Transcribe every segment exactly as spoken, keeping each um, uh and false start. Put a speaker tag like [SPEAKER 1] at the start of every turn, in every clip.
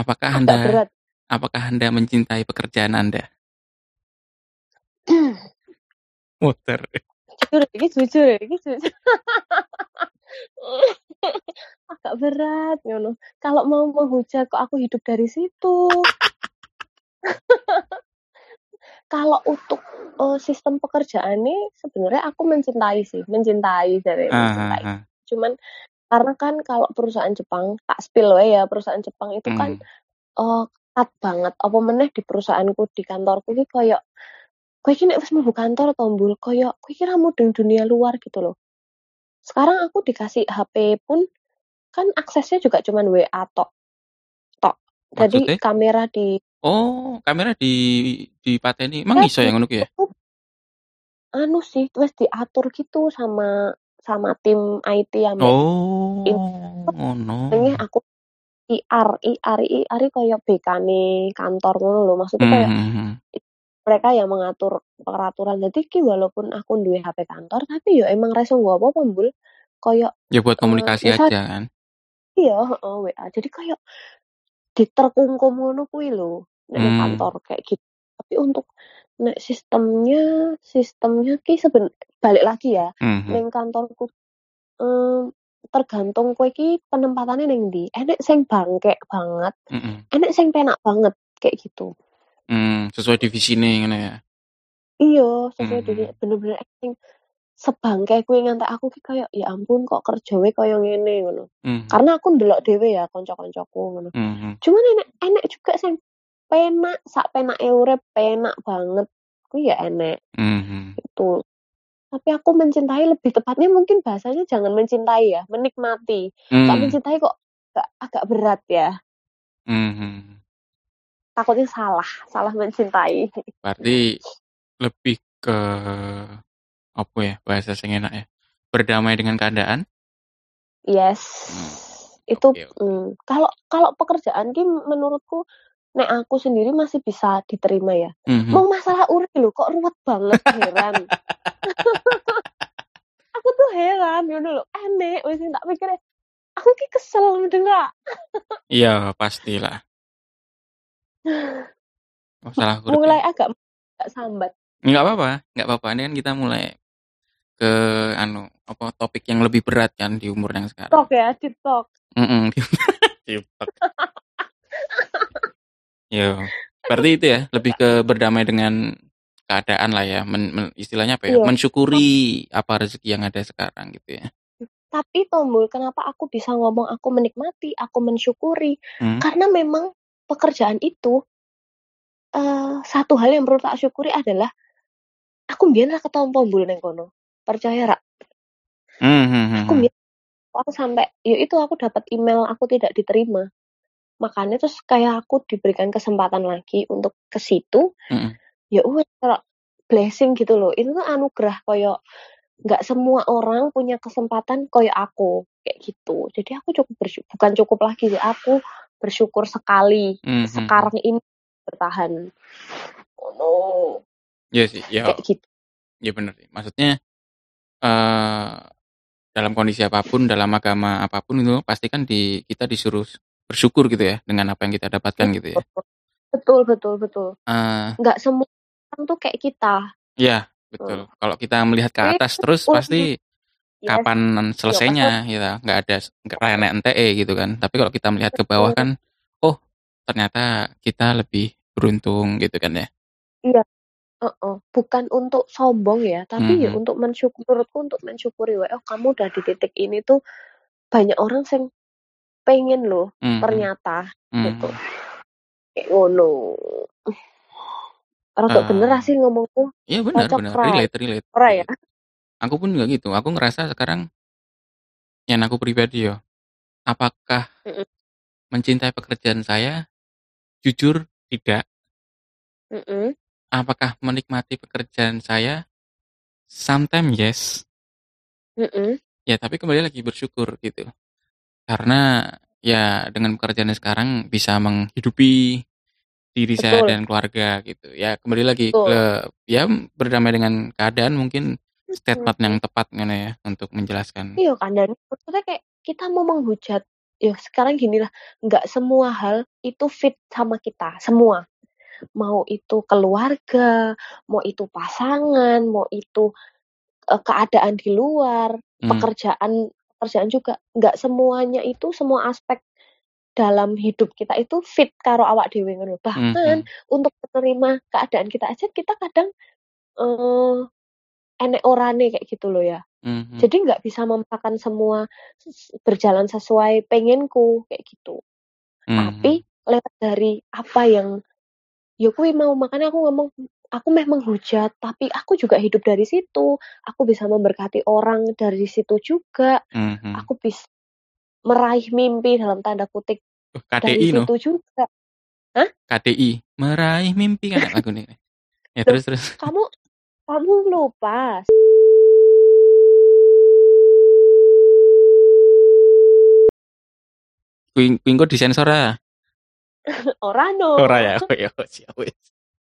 [SPEAKER 1] Apakah
[SPEAKER 2] Agak
[SPEAKER 1] Anda
[SPEAKER 2] berat.
[SPEAKER 1] apakah Anda mencintai pekerjaan Anda? Muter.
[SPEAKER 2] Jujur, ini jujur, ini jujur. Agak berat, ngono. Kalau mau menghujat kok aku hidup dari situ. Kalau untuk uh, sistem pekerjaan ini sebenarnya aku mencintai sih, mencintai dari mencintai.
[SPEAKER 1] Ah, ah, ah.
[SPEAKER 2] Cuman karena kan kalau perusahaan Jepang, tak spill ya, perusahaan Jepang itu kan
[SPEAKER 1] Hmm.
[SPEAKER 2] uh, ketat banget. Apa meneh di perusahaanku, di kantorku iki koyo kowe iki nek wis mlebu kantor tombol koyo kowe iki ra mudeng dunia luar gitu loh. Sekarang aku dikasih H P pun kan aksesnya juga cuman W A tok. Tok. Jadi
[SPEAKER 1] Maksudnya?
[SPEAKER 2] kamera di
[SPEAKER 1] Oh, kamera di dipateni. Emang
[SPEAKER 2] ya
[SPEAKER 1] iso
[SPEAKER 2] di
[SPEAKER 1] yang ngono ku ya?
[SPEAKER 2] anu sih, wis diatur gitu sama sama tim I T ambek in
[SPEAKER 1] Oh, ngono.
[SPEAKER 2] jenenge aku I R, I R, I R koyo B K-ne kantor ngono lho. Maksudnya
[SPEAKER 1] Hmm,
[SPEAKER 2] kayak
[SPEAKER 1] hmm, hmm.
[SPEAKER 2] mereka yang mengatur peraturan. Jadi ki walaupun aku duwe H P kantor, tapi yo emang ra iso nggo apa-apa, Mbul. Koyo
[SPEAKER 1] Ya buat
[SPEAKER 2] eh,
[SPEAKER 1] komunikasi
[SPEAKER 2] misal
[SPEAKER 1] aja kan.
[SPEAKER 2] iya, heeh, W A. Jadi kayak diterkungkum ngono kuwi lho, nek ning
[SPEAKER 1] Hmm.
[SPEAKER 2] kantor kayak gitu. Tapi untuk nek sistemnya, sistemnya ki seben balik lagi ya,
[SPEAKER 1] Hmm, hmm.
[SPEAKER 2] ning kantorku em, tergantung kowe iki penempatannya ning ndi. Enek sing bangkek banget,
[SPEAKER 1] Mm-mm.
[SPEAKER 2] enek sing penak banget kayak gitu.
[SPEAKER 1] Hmm, sesuai divisi nih ngono ya.
[SPEAKER 2] Iya, sesuai
[SPEAKER 1] Hmm.
[SPEAKER 2] diri bener-bener sing sebangke kuwi ngantek aku ki kayak ya ampun kok kerjawe kaya ngene ngono.
[SPEAKER 1] Hmm.
[SPEAKER 2] Karena aku ndelok dhewe ya kanca-kancaku ngono.
[SPEAKER 1] Hmm.
[SPEAKER 2] Cuman enek enek juga sing penak, sak penake urip, penak banget. Kuwi ya enek.
[SPEAKER 1] Hmm.
[SPEAKER 2] Itu. Tapi aku mencintai lebih tepatnya mungkin bahasanya jangan mencintai ya, menikmati. Kak
[SPEAKER 1] Hmm.
[SPEAKER 2] mencintai kok agak, agak berat ya.
[SPEAKER 1] Hmm.
[SPEAKER 2] Takutnya salah, salah mencintai.
[SPEAKER 1] Berarti lebih ke apa ya bahasa sing enak ya? Berdamai dengan keadaan.
[SPEAKER 2] Yes.
[SPEAKER 1] Hmm.
[SPEAKER 2] Itu
[SPEAKER 1] Oke, oke.
[SPEAKER 2] mm, kalau kalau pekerjaan ki menurutku nek aku sendiri masih bisa diterima ya.
[SPEAKER 1] Hmm.
[SPEAKER 2] Mau masalah urip lho kok ruwet banget, heran. Aku tuh heran ngono lho, aneh wis tak pikir aku ki kesel mendengar.
[SPEAKER 1] Iya, pastilah. Masalah urip ya.
[SPEAKER 2] Mulai agak agak sambat.
[SPEAKER 1] Enggak apa-apa, enggak apa-apa. Ini kan kita mulai ke anu apa topik yang lebih berat kan di umur yang sekarang.
[SPEAKER 2] Tok ya, di tok.
[SPEAKER 1] Mm-mm. Ciplak. Yo, berarti itu ya lebih ke berdamai dengan keadaan lah ya, men, men- istilahnya apa ya,
[SPEAKER 2] Iya.
[SPEAKER 1] mensyukuri apa rezeki yang ada sekarang gitu ya.
[SPEAKER 2] Tapi Tombol, kenapa aku bisa ngomong aku menikmati, aku mensyukuri?
[SPEAKER 1] Hmm?
[SPEAKER 2] Karena memang pekerjaan itu uh, satu hal yang perlu tak syukuri adalah aku mbiyen ra ketemu Tombol neng kono. Percaya rak?
[SPEAKER 1] Hmm, hmm, hmm,
[SPEAKER 2] Aku
[SPEAKER 1] hmm.
[SPEAKER 2] mbiyen aku sampai ya itu aku dapat email aku tidak diterima. Makanya terus kayak aku diberikan kesempatan lagi untuk ke situ.
[SPEAKER 1] Mm-mm.
[SPEAKER 2] Ya wes blessing gitu loh. Itu tuh anugerah koyo nggak semua orang punya kesempatan koyo aku kayak gitu. Jadi aku cukup bersyukur, bukan cukup lagi sih, aku bersyukur sekali
[SPEAKER 1] Hmm, hmm, hmm.
[SPEAKER 2] sekarang ini bertahan. Oh no.
[SPEAKER 1] Iya sih, ya,
[SPEAKER 2] Kayak gitu.
[SPEAKER 1] ya benar sih. Maksudnya eh dalam kondisi apapun, dalam agama apapun itu pasti kan di kita disuruh bersyukur gitu ya dengan apa yang kita dapatkan gitu ya.
[SPEAKER 2] Betul, betul, betul.
[SPEAKER 1] Eh
[SPEAKER 2] Nggak semua orang tuh kayak kita.
[SPEAKER 1] ya
[SPEAKER 2] Hmm.
[SPEAKER 1] betul. Kalau kita melihat ke
[SPEAKER 2] Tapi
[SPEAKER 1] atas terus
[SPEAKER 2] ulang
[SPEAKER 1] pasti
[SPEAKER 2] yes.
[SPEAKER 1] kapan
[SPEAKER 2] Yo, kesel.
[SPEAKER 1] selesainya gitu, nggak ada nggak renek N T E gitu kan. Tapi kalau kita melihat ke bawah kan, oh ternyata kita lebih beruntung gitu kan ya.
[SPEAKER 2] Iya. Uh-uh. Bukan untuk sombong ya, tapi ya
[SPEAKER 1] Mhm.
[SPEAKER 2] untuk mensyukur, menurutku untuk mensyukuri, oh kamu udah di titik ini tuh banyak orang yang pengen loh,
[SPEAKER 1] Mhm.
[SPEAKER 2] ternyata gitu.
[SPEAKER 1] Mhm.
[SPEAKER 2] Kayak ngono. Rada bener
[SPEAKER 1] Eh,
[SPEAKER 2] sih ngomongku.
[SPEAKER 1] iya benar
[SPEAKER 2] Cocok
[SPEAKER 1] benar
[SPEAKER 2] ra.
[SPEAKER 1] relate relate
[SPEAKER 2] Ora ya?
[SPEAKER 1] relate. Aku pun juga gitu. Aku ngerasa sekarang yang aku pribadi ya, apakah
[SPEAKER 2] Mm-mm.
[SPEAKER 1] mencintai pekerjaan saya? Jujur tidak.
[SPEAKER 2] Mm-mm.
[SPEAKER 1] Apakah menikmati pekerjaan saya? Sometimes yes.
[SPEAKER 2] Mm-mm.
[SPEAKER 1] Ya, tapi kembali lagi bersyukur gitu. Karena ya dengan pekerjaan sekarang bisa menghidupi diri saya
[SPEAKER 2] Betul,
[SPEAKER 1] dan keluarga gitu. Ya kembali lagi
[SPEAKER 2] betul.
[SPEAKER 1] ke ya berdamai dengan keadaan mungkin statement yang
[SPEAKER 2] Mm-mm.
[SPEAKER 1] tepat kan ya untuk menjelaskan.
[SPEAKER 2] Iya kan, dan maksudnya kayak kita mau menghujat ya sekarang gini lah, nggak semua hal itu fit sama kita, semua. Mau itu keluarga, mau itu pasangan, mau itu uh, keadaan di luar,
[SPEAKER 1] Hmm.
[SPEAKER 2] pekerjaan pekerjaan juga, nggak semuanya itu semua aspek dalam hidup kita itu fit karo awak dhewe ngono. Bahkan
[SPEAKER 1] Mhm.
[SPEAKER 2] untuk menerima keadaan kita aja kita kadang uh, enek orane kayak gitu loh ya.
[SPEAKER 1] Mhm.
[SPEAKER 2] Jadi nggak bisa memaksakan semua s- berjalan sesuai pengenku kayak gitu. Tapi
[SPEAKER 1] Mhm.
[SPEAKER 2] lewat dari apa yang ya kuwi mau, makanya aku ngomong aku memang hujat, tapi aku juga hidup dari situ. Aku bisa memberkati orang dari situ juga.
[SPEAKER 1] Mhm.
[SPEAKER 2] Aku bisa meraih mimpi dalam tanda kutip
[SPEAKER 1] Oh,
[SPEAKER 2] dari
[SPEAKER 1] K D I no,
[SPEAKER 2] situ juga. Hah?
[SPEAKER 1] K D I, meraih mimpi kan lagu nih. Ya
[SPEAKER 2] Loh,
[SPEAKER 1] terus terus.
[SPEAKER 2] kamu kamu lupa.
[SPEAKER 1] Kuing kuing kok disensor ah.
[SPEAKER 2] Ora no.
[SPEAKER 1] Ora ya. Oh ya siap wis.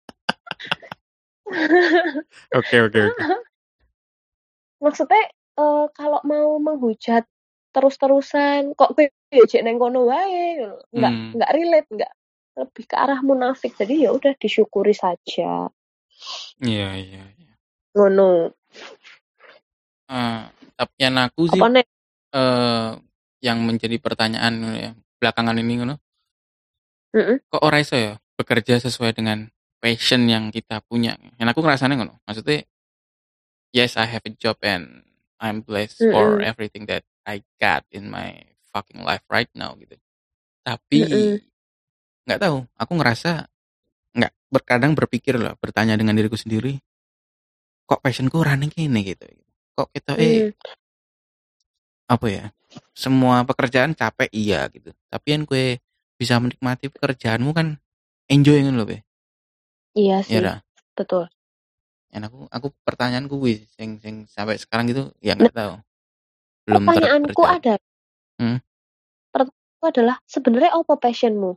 [SPEAKER 1] Oke oke oke.
[SPEAKER 2] Maksudnya eh, kalau mau menghujat terus-terusan kok kowe ya jek neng kono wae, nggak
[SPEAKER 1] Hmm.
[SPEAKER 2] nggak relate, nggak lebih ke arah munafik. Jadi ya udah disyukuri saja.
[SPEAKER 1] Iya iya iya.
[SPEAKER 2] Ngono.
[SPEAKER 1] Eh, tapi yang aku sih
[SPEAKER 2] Apa nek?
[SPEAKER 1] eh yang menjadi pertanyaan ya, belakangan ini ngono,
[SPEAKER 2] Heeh.
[SPEAKER 1] kok ora iso ya bekerja sesuai dengan passion yang kita punya. Yang aku ngerasanya ngono. Maksudnya yes I have a job and I'm blessed for
[SPEAKER 2] Heeh.
[SPEAKER 1] everything that I got in my fucking life right now gitu. Tapi
[SPEAKER 2] Heeh.
[SPEAKER 1] nggak tahu, aku ngerasa nggak berkadang berpikir lah, bertanya dengan diriku sendiri, kok passionku running gini gitu. Kok kita eh
[SPEAKER 2] Hmm.
[SPEAKER 1] apa ya? Semua pekerjaan capek iya gitu. Tapi kan kue bisa menikmati pekerjaanmu kan enjoy kan loh be.
[SPEAKER 2] Iya
[SPEAKER 1] Ya
[SPEAKER 2] sih,
[SPEAKER 1] dah.
[SPEAKER 2] betul.
[SPEAKER 1] Dan aku aku pertanyaanku wis sing sing sampai sekarang gitu ya
[SPEAKER 2] Nah,
[SPEAKER 1] nggak tahu. Belum ter,
[SPEAKER 2] pertanyaanku
[SPEAKER 1] terjawab.
[SPEAKER 2] ada,
[SPEAKER 1] Hmm?
[SPEAKER 2] pertanyaanku adalah sebenarnya apa passionmu?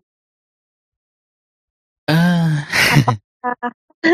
[SPEAKER 1] Ah,
[SPEAKER 2] Apakah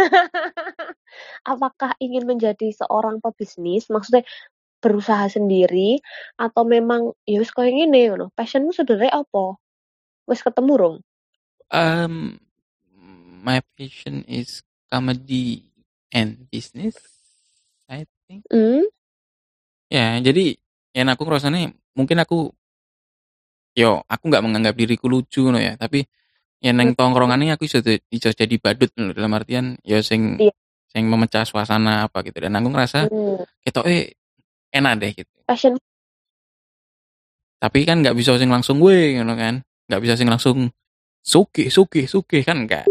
[SPEAKER 2] apakah ingin menjadi seorang pebisnis? Maksudnya berusaha sendiri atau memang ya wis koyo ngene ngono. Passionmu sebenarnya apa? Wis ketemu rung?
[SPEAKER 1] um, my passion is comedy and business, I think.
[SPEAKER 2] Hmm?
[SPEAKER 1] Ya, jadi yang aku ngerasanya mungkin aku yo aku nggak menganggap diriku lucu no ya, tapi ya
[SPEAKER 2] Hmm.
[SPEAKER 1] neng tongkrongannya aku iso iso jadi badut no, dalam artian ya sing
[SPEAKER 2] Iya.
[SPEAKER 1] sing memecah suasana apa gitu. Dan aku ngerasa
[SPEAKER 2] Hmm.
[SPEAKER 1] ketoke enak deh gitu.
[SPEAKER 2] Passion.
[SPEAKER 1] Tapi kan nggak bisa sing langsung gue ngono kan. Nggak bisa sing langsung suki suki suki kan enggak.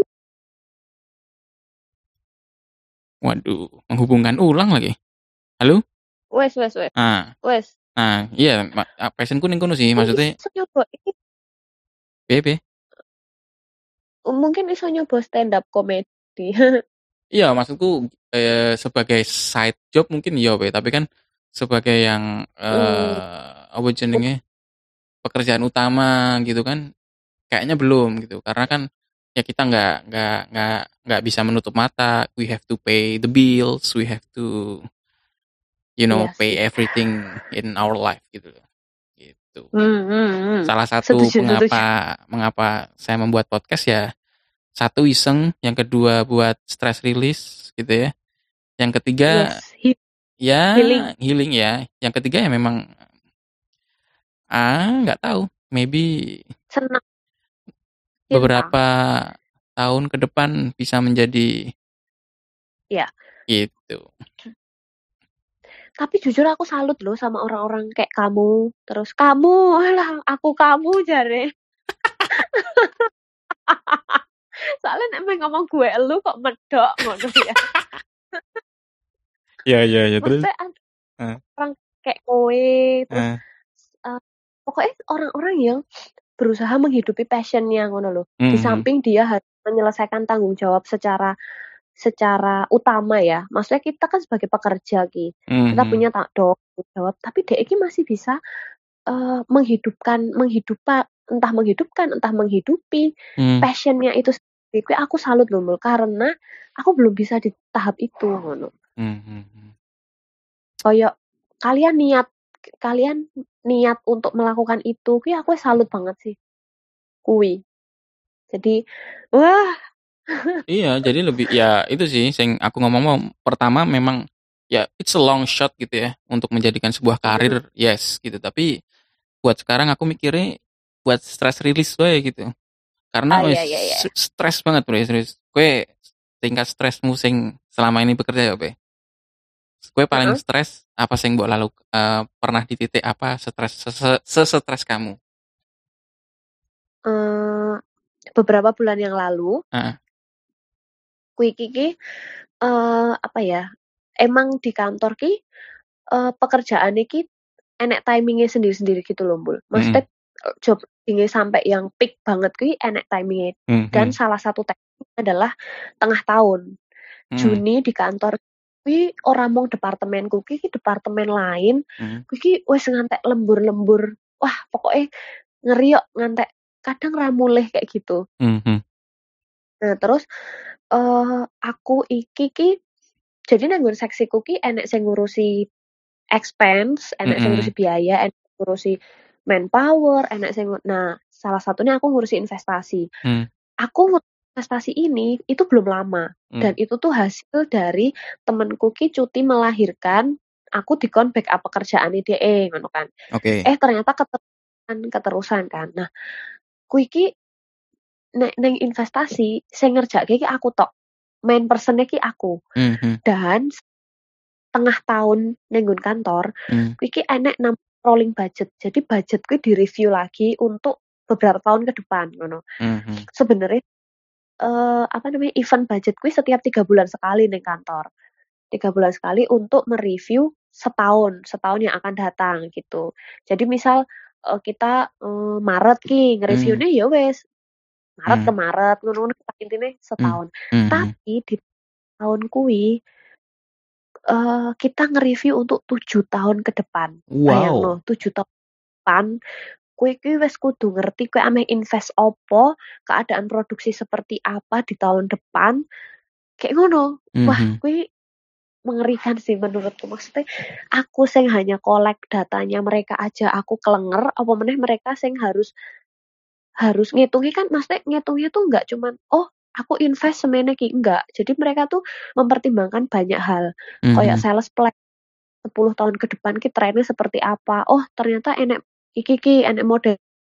[SPEAKER 1] Waduh, menghubungkan ulang lagi. Halo?
[SPEAKER 2] Wes wes wes.
[SPEAKER 1] Nah,
[SPEAKER 2] Wes.
[SPEAKER 1] nah iya, ma- ah, passionku ning kono sih,
[SPEAKER 2] Mungkin
[SPEAKER 1] maksudnya
[SPEAKER 2] iso nyoba iki,
[SPEAKER 1] B B.
[SPEAKER 2] mungkin iso nyoba stand up comedy.
[SPEAKER 1] Iya, maksudku eh, sebagai side job mungkin iya, be. Tapi kan sebagai yang
[SPEAKER 2] Hmm.
[SPEAKER 1] eh apa jenenge pekerjaan utama gitu kan, kayaknya belum gitu. Karena kan ya kita nggak nggak nggak nggak bisa menutup mata. We have to pay the bills, we have to you know
[SPEAKER 2] Iya
[SPEAKER 1] pay
[SPEAKER 2] sih.
[SPEAKER 1] everything in our life gitu loh. Gitu.
[SPEAKER 2] Hmm, hmm, hmm.
[SPEAKER 1] Salah satu
[SPEAKER 2] Setuju, setuju.
[SPEAKER 1] pengapa mengapa saya membuat podcast ya, satu iseng, yang kedua buat stress release gitu ya. Yang ketiga
[SPEAKER 2] Yes, he-
[SPEAKER 1] ya
[SPEAKER 2] healing.
[SPEAKER 1] healing ya. Yang ketiga ya memang ah nggak tahu, maybe
[SPEAKER 2] Senang, cinta.
[SPEAKER 1] beberapa tahun ke depan bisa menjadi
[SPEAKER 2] Ya.
[SPEAKER 1] gitu.
[SPEAKER 2] Tapi jujur aku salut loh sama orang-orang kayak kamu. Terus kamu, alah aku kamu jare. Soalnya nek emang ngomong gue elu kok medok ngono ya.
[SPEAKER 1] Iya iya iya terus.
[SPEAKER 2] Maksudnya ada
[SPEAKER 1] Ah,
[SPEAKER 2] orang kayak kowe, terus
[SPEAKER 1] ah,
[SPEAKER 2] uh, pokoknya orang-orang yang berusaha menghidupi passionnya ngono loh. Di
[SPEAKER 1] mhm,
[SPEAKER 2] samping dia harus menyelesaikan tanggung jawab secara secara utama ya. Maksudnya kita kan sebagai pekerja ki, kita
[SPEAKER 1] mhm,
[SPEAKER 2] punya tak tanggung jawab, tapi dia ini masih bisa uh, menghidupkan, menghidupa, entah menghidupkan, entah menghidupi
[SPEAKER 1] mhm,
[SPEAKER 2] passionnya itu sendiri. Kayak aku salut loh Mul, karena aku belum bisa di tahap itu ngono.
[SPEAKER 1] mhm, mhm.
[SPEAKER 2] Kayak kalian niat kalian niat untuk melakukan itu, kuwi aku salut banget sih. Kuwi. Jadi, wah.
[SPEAKER 1] Iya, jadi lebih ya itu sih sing aku ngomong pertama memang ya it's a long shot gitu ya untuk menjadikan sebuah
[SPEAKER 2] Mhm.
[SPEAKER 1] karir, yes gitu. Tapi buat sekarang aku mikirnya buat stress release wae gitu.
[SPEAKER 2] Ah,
[SPEAKER 1] Karena wes
[SPEAKER 2] iya iya iya.
[SPEAKER 1] stres banget bro, serius. Kue tingkat stresmu sing selama ini bekerja ya, Be? Kue paling
[SPEAKER 2] Heeh.
[SPEAKER 1] stres apa sing mbok lalu eh, pernah di titik apa stres se-stres kamu?
[SPEAKER 2] Eh, beberapa bulan yang lalu,
[SPEAKER 1] Heeh.
[SPEAKER 2] kuwi iki eh apa ya? Emang di kantor ki eh, pekerjaan iki enek timingnya sendiri-sendiri gitu loh, Mbul.
[SPEAKER 1] Mm-mm.
[SPEAKER 2] Maksudnya eh, job ini sampai yang peak banget kuwi enek timingnya. Dan
[SPEAKER 1] Mhm.
[SPEAKER 2] salah satu timing adalah tengah tahun.
[SPEAKER 1] Mhm.
[SPEAKER 2] Juni di kantor kuwi ora mung departemenku ki ki departemen lain
[SPEAKER 1] Mhm.
[SPEAKER 2] kuwi ki wis ngantek lembur-lembur. Wah, pokoknya ngeri yok ngantek kadang ra mulih kayak gitu.
[SPEAKER 1] Mhm.
[SPEAKER 2] Nah, terus eh aku iki ki jadi nang nggon seksiku ki enek sing ngurusi expense, enek sing ngurusi
[SPEAKER 1] Mhm.
[SPEAKER 2] biaya, enek sing ngurusi manpower, enek sing nah, salah satunya aku ngurusi investasi.
[SPEAKER 1] Mhm.
[SPEAKER 2] Aku ngurus investasi ini itu belum lama dan
[SPEAKER 1] Mhm.
[SPEAKER 2] itu tuh hasil dari temenku ki cuti melahirkan, aku dikon backup pekerjaane dhek ngono kan.
[SPEAKER 1] Oke.
[SPEAKER 2] Eh ternyata keterusan keterusan kan. Nah, kuwi ki nek ning investasi sing ngerjakke ki aku tok. Main person-nya ki aku.
[SPEAKER 1] Mhm.
[SPEAKER 2] Dan tengah tahun ning nggon kantor,
[SPEAKER 1] Mhm.
[SPEAKER 2] kuwi ki enek nam rolling budget. Jadi budget kuwi direview lagi untuk beberapa tahun ke depan ngono.
[SPEAKER 1] Mhm.
[SPEAKER 2] Sebenarnya eh apa namanya event budget kuwi setiap tiga bulan sekali ning kantor. Tiga bulan sekali untuk mereview setahun, setahun yang akan datang gitu. Jadi misal eh, kita eh, Maret ki
[SPEAKER 1] Mhm.
[SPEAKER 2] nge-reviewnya ya wes Maret ke
[SPEAKER 1] Mhm.
[SPEAKER 2] Maret ngono-ngono intine
[SPEAKER 1] Mhm.
[SPEAKER 2] setahun.
[SPEAKER 1] Mhm.
[SPEAKER 2] Tapi di tahun kuwi eh, kita nge-review untuk tujuh tahun ke depan.
[SPEAKER 1] Wow.
[SPEAKER 2] Bayangno, tujuh tahun ke depan kowe kuwi wis kudu ngerti kowe ameh invest opo, keadaan produksi seperti apa di tahun depan. Kayak ngono. Wah,
[SPEAKER 1] Mhm.
[SPEAKER 2] kuwi mengerikan sih menurutku. Maksudnya aku sing hanya kolek datanya mereka aja aku kelenger, apa meneh mereka sing harus harus ngitungnya kan maksudnya ngitungnya tuh nggak cuman oh aku invest semene ki enggak. Jadi mereka tuh mempertimbangkan banyak hal. Kayak
[SPEAKER 1] Mhm.
[SPEAKER 2] sales plan sepuluh tahun ke depan ki trennya seperti apa. Oh, ternyata enek iki ki enek model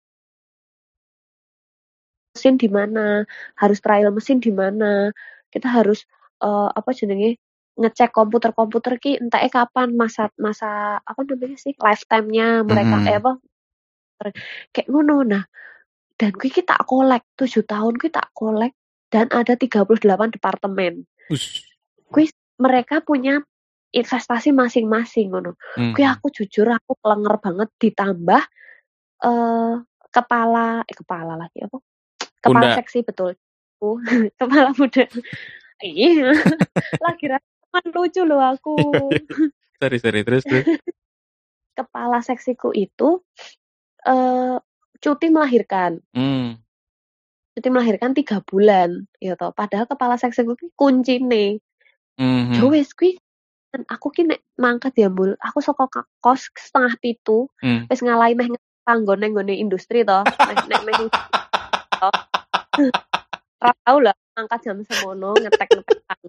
[SPEAKER 2] mesin di mana, harus trial mesin di mana. Kita harus eh, apa jenenge ngecek komputer-komputer ki entahnya kapan masa masa apa namanya sih lifetime-nya mereka eh
[SPEAKER 1] Mhm.
[SPEAKER 2] apa kayak ngono. Nah, dan kuwi ki tak kolek tujuh tahun kuwi tak kolek dan ada tiga puluh delapan departemen.
[SPEAKER 1] Us.
[SPEAKER 2] Kuwi mereka punya investasi masing-masing ngono. Kuwi
[SPEAKER 1] Mhm.
[SPEAKER 2] aku jujur aku kelenger banget ditambah eh kepala eh kepala lagi apa? Kepala
[SPEAKER 1] Bunda.
[SPEAKER 2] seksi betul. Uh, kepala muda. Iya, lagi rekaman lucu loh aku.
[SPEAKER 1] Sorry, sorry. Terus, terus.
[SPEAKER 2] Kepala seksiku itu eh cuti melahirkan.
[SPEAKER 1] Hmm.
[SPEAKER 2] Cuti melahirkan tiga bulan, ya toh. Padahal kepala seksiku ki kuncine. Ya
[SPEAKER 1] Mhm.
[SPEAKER 2] wis kuwi kan aku ki nek mangkat ya, Mbul. Aku saka ka- kos setengah pitu
[SPEAKER 1] Hmm.
[SPEAKER 2] wis ngalahi meh panggon nang nggone industri toh. Meh nek meh toh. Ora tau lah mangkat jam semono ngetek-ngetek panggon.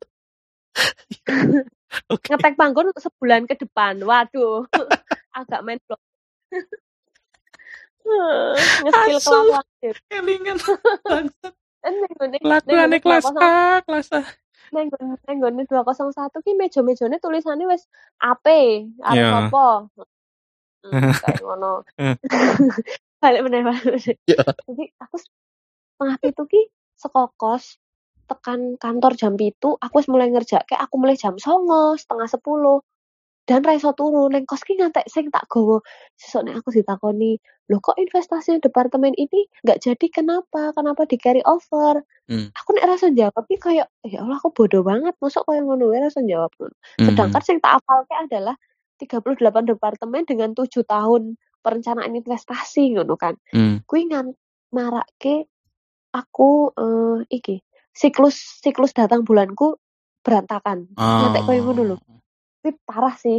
[SPEAKER 1] Oke.
[SPEAKER 2] Ngetek panggon untuk sebulan ke depan. Waduh. Agak main blok. Nge-skill
[SPEAKER 1] Asu.
[SPEAKER 2] kelakuan.
[SPEAKER 1] Kelingan. Bangsat.
[SPEAKER 2] Kan ning nggone ning nggone
[SPEAKER 1] Kelakuannya kelas
[SPEAKER 2] dua nol satu
[SPEAKER 1] A, kelas A.
[SPEAKER 2] ning nggone ning nggone dua nol satu ki meja-mejane tulisane wis A P, arep
[SPEAKER 1] Ya.
[SPEAKER 2] apa. Hmm, kayak ngono. Balik meneh, balik meneh.
[SPEAKER 1] Ya.
[SPEAKER 2] Jadi aku setengah pitu ki saka kos tekan kantor jam pitu, aku wis mulai ngerjakke, aku mulai jam songo, setengah sepuluh. Dan ra iso turu ning kos ki ngantek sing tak gawa. Sesuk nek aku ditakoni, "Loh kok investasi departemen ini nggak jadi kenapa? Kenapa di carry over?"
[SPEAKER 1] Hmm.
[SPEAKER 2] Aku nek rasa jawab ki kayak, ya Allah aku bodoh banget, mosok koyo ngono wae rasa jawab ngono. Sedangkan
[SPEAKER 1] Mhm.
[SPEAKER 2] sing tak hafalke adalah tiga puluh delapan departemen dengan tujuh tahun perencanaan investasi ngono kan.
[SPEAKER 1] Hmm.
[SPEAKER 2] Kuwi ngan marake aku eh, iki siklus siklus datang bulanku berantakan. Ngantek koyo ngono lho.
[SPEAKER 1] Oh.
[SPEAKER 2] Kuwi parah sih.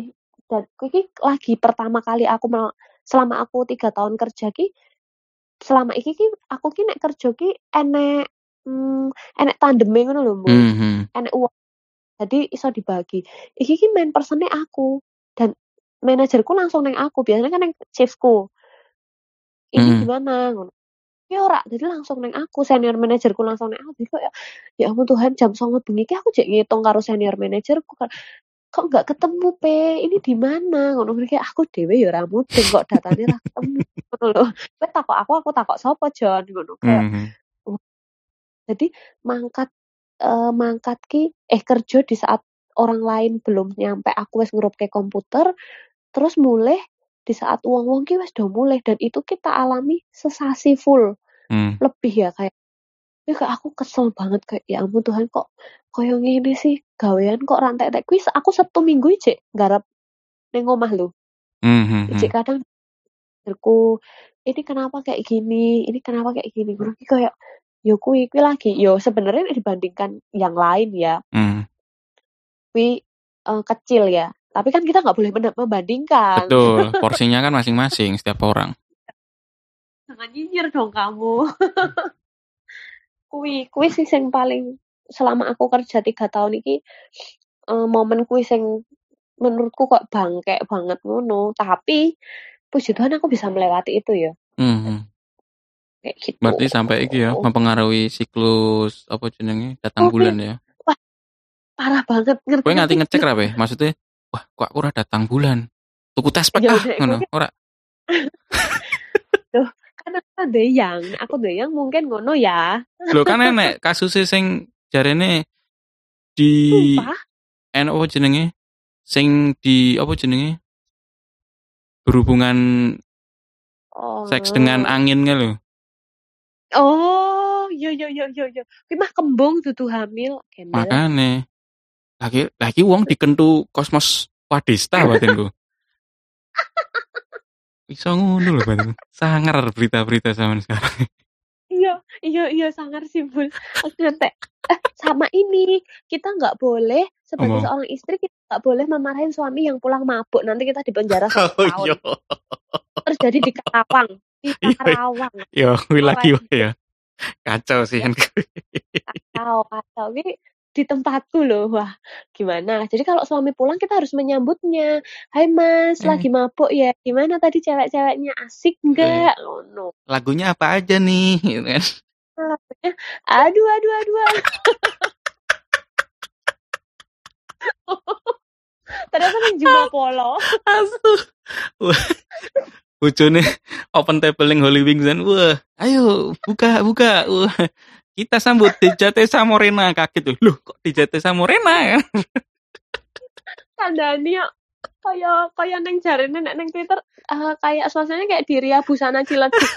[SPEAKER 2] dan iki lagi pertama kali aku mel- selama aku tiga tahun kerja ki selama iki ki aku ki nek kerja ki enek hmm, enek tandeme ngono lho Mbul.
[SPEAKER 1] Mhm.
[SPEAKER 2] Enek uang. Jadi iso dibagi. Iki ki main personnya aku dan manajerku langsung neng aku. Biasanya kan neng shiftku. Ini
[SPEAKER 1] Mhm.
[SPEAKER 2] gimana? Ngono. Ya ora, jadi langsung neng aku, senior manajerku langsung neng aku. Jadi kayak ya ampun Tuhan jam songo bengi ki aku jek ngitung karo senior manajerku kan. Kok nggak ketemu pe? Ini di mana? Ngono kayak aku dhewe ya ora mudeng kok datane ra ketemu. Ngono lho. Kowe takok aku, aku takok sapa Jon ngono kayak.
[SPEAKER 1] Mhm.
[SPEAKER 2] oh, Jadi mangkat eh, mangkat ki eh kerja di saat orang lain belum nyampe aku wis ngerupke komputer, terus mulai di saat wong-wong ki wis do mulai dan itu kita alami sesasi full
[SPEAKER 1] Hmm.
[SPEAKER 2] lebih ya kayak ya kayak aku kesel banget kayak ya ampun Tuhan kok koyo ngene sih gawean kok rantai-rantai kuwi aku Sabtu Minggu ijek garap ning omah lho.
[SPEAKER 1] Mhm.
[SPEAKER 2] Ijek kadang berku ini kenapa kayak gini, ini kenapa kayak gini. Gue kayak yo kuwi kuwi lagi yo sebenarnya dibandingkan yang lain ya
[SPEAKER 1] Mhm.
[SPEAKER 2] kuwi eh, kecil ya. Tapi kan kita nggak boleh men- membandingkan.
[SPEAKER 1] Betul, porsinya kan masing-masing setiap orang.
[SPEAKER 2] Jangan nyinyir dong kamu. Kuwi kuwi sih sing paling selama aku kerja tiga tahun iki eh, momen kuwi sing menurutku kok bangkek banget ngono. Tapi puji Tuhan aku bisa melewati itu ya.
[SPEAKER 1] Mhm.
[SPEAKER 2] Kayak gitu.
[SPEAKER 1] Berarti sampai iki ya mempengaruhi siklus apa jenenge datang
[SPEAKER 2] Oh,
[SPEAKER 1] bulan ya.
[SPEAKER 2] wah, parah banget
[SPEAKER 1] Kowe nganti
[SPEAKER 2] ngerti-ngerti.
[SPEAKER 1] ngecek ra be? Maksudnya, wah kok aku ora datang bulan. Tuku tes pek
[SPEAKER 2] Ya
[SPEAKER 1] ah
[SPEAKER 2] udah
[SPEAKER 1] ngono.
[SPEAKER 2] kuwi
[SPEAKER 1] Ora.
[SPEAKER 2] tuh kan aku deyang, aku deyang mungkin ngono ya.
[SPEAKER 1] Lho kan enek kasusnya sing jarene di
[SPEAKER 2] Sumpah.
[SPEAKER 1] en apa jenenge? Sing di apa jenenge? Berhubungan seks dengan
[SPEAKER 2] Oh.
[SPEAKER 1] angin nge lho.
[SPEAKER 2] Oh, yo yo yo yo yo. Kuwi mah kembung dudu hamil, gembel.
[SPEAKER 1] Makane lagi lagi wong dikentu kosmos wadista batinku. Iso ngono lho batinku. Sangar berita-berita zaman sekarang.
[SPEAKER 2] Iya, iya, iya sangar simpul. Aku ngetek. Eh, sama ini kita nggak boleh sebagai
[SPEAKER 1] Apa?
[SPEAKER 2] seorang istri kita nggak boleh memarahin suami yang pulang mabuk. Nanti kita di penjara satu
[SPEAKER 1] Oh
[SPEAKER 2] tahun.
[SPEAKER 1] iya.
[SPEAKER 2] Terjadi di Karawang, di
[SPEAKER 1] Iya.
[SPEAKER 2] Karawang.
[SPEAKER 1] Yo, kuwi lagi
[SPEAKER 2] Orang
[SPEAKER 1] wae ya. Kacau sih kan.
[SPEAKER 2] kacau, kacau. Ini di tempatku loh, wah gimana? Jadi kalau suami pulang kita harus menyambutnya. Hai Mas,
[SPEAKER 1] Eh,
[SPEAKER 2] lagi mabuk ya? Gimana tadi cewek-ceweknya asik
[SPEAKER 1] eh,
[SPEAKER 2] nggak? Oh no.
[SPEAKER 1] lagunya apa aja nih gitu kan.
[SPEAKER 2] Aduh, aduh, aduh, aduh. Ternyata nih Jumbo Polo.
[SPEAKER 1] Asu. Wah, bojone open table ning Holy Wings dan wah, ayo buka buka. Wah, kita sambut D J T Samorena kaget tuh. Loh, kok D J T Samorena ya?
[SPEAKER 2] Kandani ya kayak kayak neng jarene nek neng Twitter eh, kayak suasananya kayak di Ria Busana Ciledug.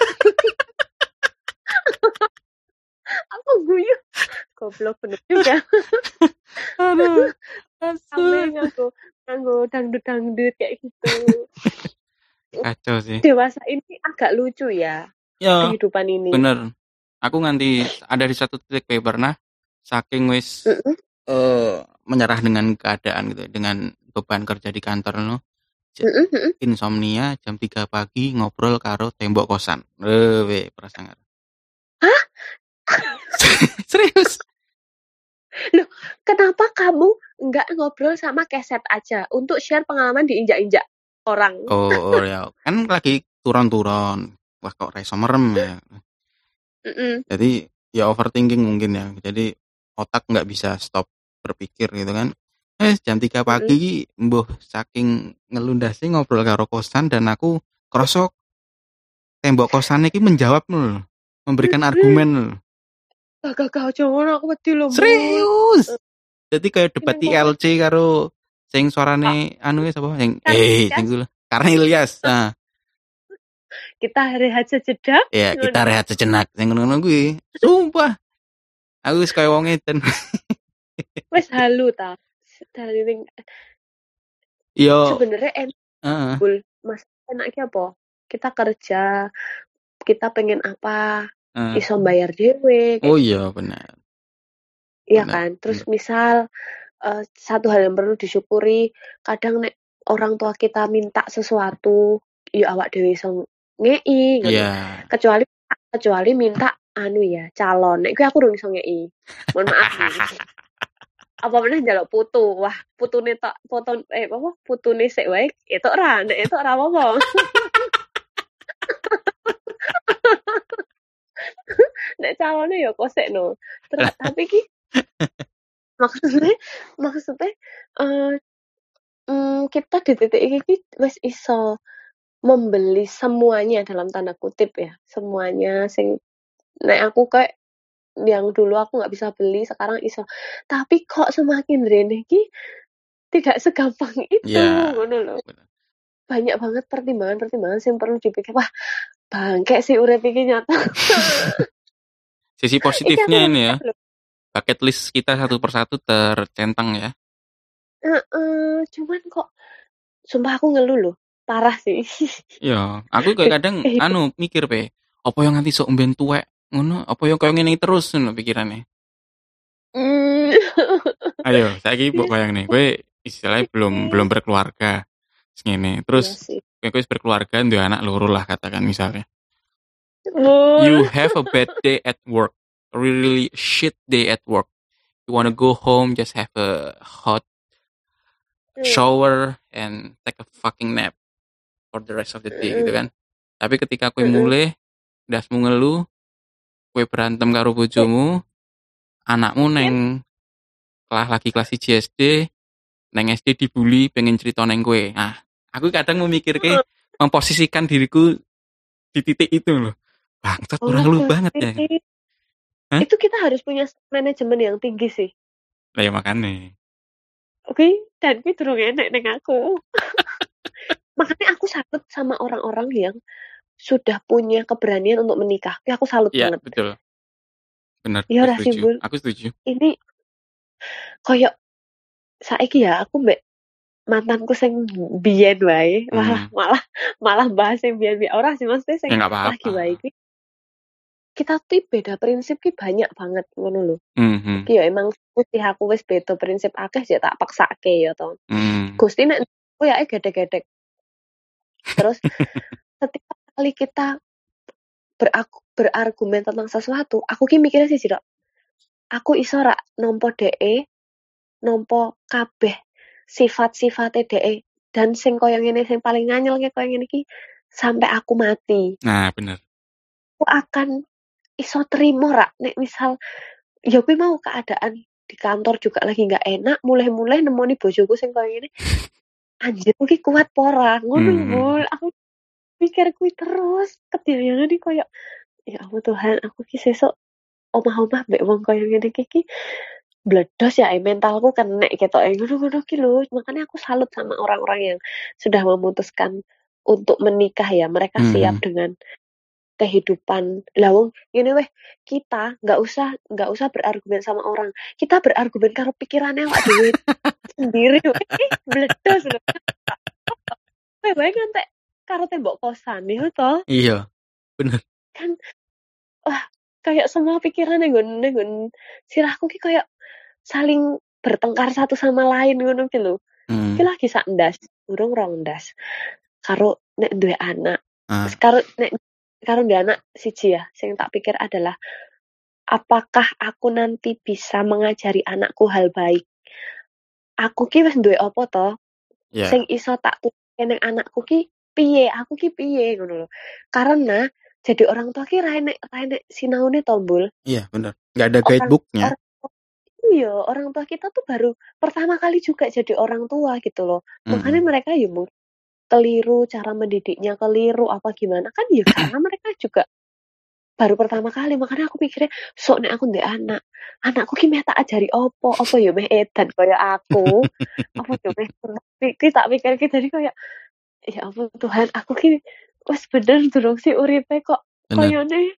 [SPEAKER 2] Aku guyu. Goblok bener juga.
[SPEAKER 1] Aduh.
[SPEAKER 2] Sampai
[SPEAKER 1] Asu.
[SPEAKER 2] nganggo nganggo dangdut-dangdut kayak gitu.
[SPEAKER 1] Kacau sih.
[SPEAKER 2] Dewasa ini agak lucu ya
[SPEAKER 1] Ya,
[SPEAKER 2] kehidupan ini.
[SPEAKER 1] bener. Aku nganti ada di satu titik kayak pernah saking wis
[SPEAKER 2] Mm-mm.
[SPEAKER 1] eh, menyerah dengan keadaan gitu, dengan beban kerja di kantor lo.
[SPEAKER 2] Mm-mm, mm-mm.
[SPEAKER 1] Insomnia jam tiga pagi ngobrol karo tembok kosan. Eh, we perasaan.
[SPEAKER 2] Hah?
[SPEAKER 1] Serius?
[SPEAKER 2] Loh, kenapa kamu nggak ngobrol sama keset aja untuk share pengalaman diinjak-injak orang?
[SPEAKER 1] Oh, oh ya, kan lagi turun-turun. Wah, kok reso merem ya.
[SPEAKER 2] Mm-mm.
[SPEAKER 1] Jadi ya overthinking mungkin ya. Jadi otak nggak bisa stop berpikir gitu kan. Eh, jam tiga
[SPEAKER 2] Mm-mm.
[SPEAKER 1] pagi mbuh saking ngelundasi ngobrol karo kosan dan aku krosok tembok kosan iki menjawab lho, memberikan argumen lho.
[SPEAKER 2] Gak gak jangan aku wedi lho. Mbul.
[SPEAKER 1] Serius. Jadi kayak debat
[SPEAKER 2] Ini
[SPEAKER 1] I L C karo sing suarane anu wis apa sing eh sing kuwi karena Ilyas. Nah,
[SPEAKER 2] Kita rehat sejenak.
[SPEAKER 1] ya kita rehat sejenak sing ngono kuwi. Sumpah. Aku wis kaya wong edan.
[SPEAKER 2] Wes halu ta. Dari ning
[SPEAKER 1] Yo,
[SPEAKER 2] sebenarnya enak
[SPEAKER 1] heeh.
[SPEAKER 2] Bul. Mas enaknya apa? Kita kerja, kita pengen apa?
[SPEAKER 1] Uh,
[SPEAKER 2] Iso bayar dhewe.
[SPEAKER 1] oh iya benar.
[SPEAKER 2] Iya
[SPEAKER 1] Benar,
[SPEAKER 2] kan? Terus
[SPEAKER 1] benar.
[SPEAKER 2] misal uh, satu hal yang perlu disyukuri, kadang nek orang tua kita minta sesuatu, ya awak dhewe iso ngei ngono.
[SPEAKER 1] Iya.
[SPEAKER 2] Kecuali kecuali minta anu ya, calon. Nek kuwi aku urung iso ngei. Mohon maaf nih. Apa meneh njaluk putu. Wah, putune tok foto eh apa putune sik wae etuk ra, nek etuk ra apa-apa. Nek calone ya kosek no. Terus tapi ki maksudnya maksudnya eh mm, kita di titik ini ki wis iso membeli semuanya dalam tanda kutip ya, semuanya sing nek aku kayak yang dulu aku nggak bisa beli sekarang iso. Tapi kok semakin rene ki tidak segampang itu
[SPEAKER 1] Iya.
[SPEAKER 2] ngono lho.
[SPEAKER 1] Bener.
[SPEAKER 2] Banyak banget pertimbangan-pertimbangan yang perlu dipikir. Wah, bangke sih urip iki nyata.
[SPEAKER 1] Sisi
[SPEAKER 2] Iki aku
[SPEAKER 1] positifnya ini ya,
[SPEAKER 2] rasain lho.
[SPEAKER 1] bucket list kita satu persatu tercentang ya.
[SPEAKER 2] Heeh, cuman kok sumpah aku ngeluh loh. Parah sih.
[SPEAKER 1] Iya, aku kayak kadang
[SPEAKER 2] Eh,
[SPEAKER 1] anu mikir pe, apa yang nanti sok mben tuwek ngono, apa yang kayak ngene terus ngono pikirannya.
[SPEAKER 2] mm,
[SPEAKER 1] Ayo, saiki mbok
[SPEAKER 2] Iya
[SPEAKER 1] bayang nih, kowe istilahnya belum belum
[SPEAKER 2] sih.
[SPEAKER 1] berkeluarga. Ngene.
[SPEAKER 2] Iya
[SPEAKER 1] Terus
[SPEAKER 2] sih.
[SPEAKER 1] kowe wis berkeluarga, duwe anak loro lah katakan misalnya.
[SPEAKER 2] Mul.
[SPEAKER 1] You have a bad day at work, a really shit day at work. You wanna go home, just have a hot shower and take a fucking nap for the rest of the day gitu kan. Tapi ketika kowe mulai dasmu ngeluh, kowe berantem karo bojomu, anakmu neng kelas lagi kelas satu S D, neng S D dibully, pengen cerita neng kowe. Nah, aku kadang memikir ke memposisikan diriku di titik itu loh. Bangsat orang lu banget ya. Hah?
[SPEAKER 2] Itu kita harus punya manajemen yang tinggi sih.
[SPEAKER 1] Lah ya makanya.
[SPEAKER 2] Oke, dan gue durung enek neng aku. Makanya aku salut sama orang-orang yang sudah punya keberanian untuk menikah. Tapi aku salut
[SPEAKER 1] Iya,
[SPEAKER 2] banget.
[SPEAKER 1] betul. Benar,
[SPEAKER 2] Ya
[SPEAKER 1] aku
[SPEAKER 2] ora
[SPEAKER 1] setuju.
[SPEAKER 2] simbol.
[SPEAKER 1] Aku setuju.
[SPEAKER 2] Ini koyo saiki ya aku mbek mantanku sing biyen wae, malah
[SPEAKER 1] Hmm.
[SPEAKER 2] malah malah bahas yang biyen-biyen ora sih maksudnya sing
[SPEAKER 1] Ya nggak
[SPEAKER 2] lagi
[SPEAKER 1] apa-apa.
[SPEAKER 2] wae iki. Kita tuh beda prinsip ki banyak banget ngono lho.
[SPEAKER 1] Mhm.
[SPEAKER 2] Iki ya emang putih aku wis beda prinsip akeh ya tak paksake ya to.
[SPEAKER 1] Hmm.
[SPEAKER 2] Gusti nek aku ya gedek-gedek. Terus setiap kali kita beraku, berargumen tentang sesuatu, aku ki mikirnya sih Dok. Aku iso rak nompo dhek, nompo kabeh sifat-sifate dhek dan sing koyo ngene sing paling nganyel kayak koyo ngene iki sampai aku mati.
[SPEAKER 1] Nah, bener.
[SPEAKER 2] Aku akan iso terima rak nek misal ya kuwi mau keadaan di kantor juga lagi nggak enak, mulai-mulai nemoni bojoku sing koyo ngene. Anjir kuwi kuat pora ngono lho,
[SPEAKER 1] Mhm.
[SPEAKER 2] Bul. Aku pikir kuwi terus kedayangan iki koyo ya ampun Tuhan, aku ki sesuk omah-omah mbek wong koyo ngene iki ki bledos ya mentalku kena ketok ngono-ngono ki lho. Makanya aku salut sama orang-orang yang sudah memutuskan untuk menikah ya. Mereka siap
[SPEAKER 1] Mhm.
[SPEAKER 2] dengan kehidupan. Lah wong ngene weh, kita nggak usah nggak usah berargumen sama orang. Kita berargumen karo pikirannya awak dhewe sendiri weh. Bledos lho. Kowe wae ngantek karo tembok kosan ya toh.
[SPEAKER 1] Iya, bener.
[SPEAKER 2] Kan wah kayak semua pikiran yang gue gue sirahku ki kayak saling bertengkar satu sama lain ngono ki lho.
[SPEAKER 1] Hmm.
[SPEAKER 2] Ki lagi sak ndas, urung rong ndas. Karo nek duwe anak.
[SPEAKER 1] Ah.
[SPEAKER 2] Karo nek karo duwe anak siji ya, sing tak pikir adalah apakah aku nanti bisa mengajari anakku hal baik. Aku ki wis duwe apa to?
[SPEAKER 1] Yeah.
[SPEAKER 2] Sing iso tak turuke ning anakku ki piye? Aku ki piye ngono lho. Karena jadi orang tua ki ra enek ra enek sinaune to, Bul.
[SPEAKER 1] Iya, bener. Enggak ada guidebook-nya.
[SPEAKER 2] Orang, orang, iya, orang tua kita tuh baru pertama kali juga jadi orang tua gitu loh.
[SPEAKER 1] Mhm.
[SPEAKER 2] Makanya mereka ya mungkin keliru cara mendidiknya, keliru apa gimana kan ya karena mereka juga baru pertama kali. Makanya aku pikirnya sok nek aku ndek anak, anakku ki meh tak ajari opo, opo ya meh edan kaya aku. Apa ya meh iki tak pikir ki jadi kayak ya ampun Tuhan, aku ki wis bener durung sih uripe kok koyone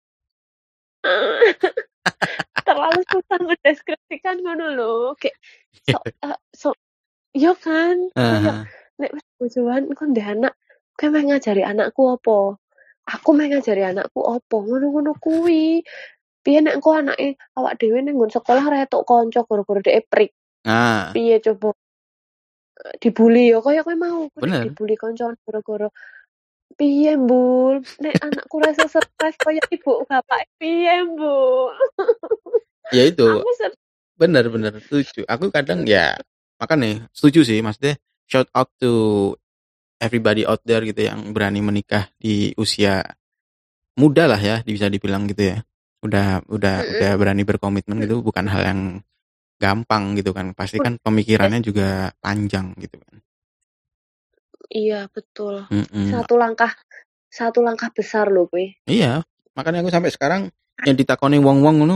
[SPEAKER 2] terlalu susah mendeskripsikan ngono lho. Kayak so, uh, so yo kan, kayak nek wis bojoan engko ndek anak, kowe meh ngajari anakku apa? Aku meh ngajari anakku apa? Ngono-ngono kuwi. Piye nek engko anake awak dhewe ning nggon sekolah ra etuk kanca gara-gara dhek prik.
[SPEAKER 1] Nah.
[SPEAKER 2] Piye coba? dibully ya kaya kowe mau kowe nek
[SPEAKER 1] Bener.
[SPEAKER 2] dibully koncoan gara-gara piye Mbul nek anakku rasa stres kaya ibu bapak piye Mbul.
[SPEAKER 1] Ya itu.
[SPEAKER 2] Aku set
[SPEAKER 1] Bener bener setuju. Aku kadang ya makanya setuju sih maksudnya shout out to everybody out there gitu yang berani menikah di usia muda lah ya bisa dibilang gitu ya. Udah udah
[SPEAKER 2] mhm,
[SPEAKER 1] udah berani berkomitmen
[SPEAKER 2] mhm.
[SPEAKER 1] gitu bukan hal yang gampang gitu kan. Pasti
[SPEAKER 2] Wah,
[SPEAKER 1] kan
[SPEAKER 2] eh,
[SPEAKER 1] pemikirannya juga panjang gitu kan.
[SPEAKER 2] iya betul.
[SPEAKER 1] Mm-mm.
[SPEAKER 2] Satu langkah satu langkah besar loh kowe.
[SPEAKER 1] Iya, makanya aku sampai sekarang yang ditakoni wong-wong ngono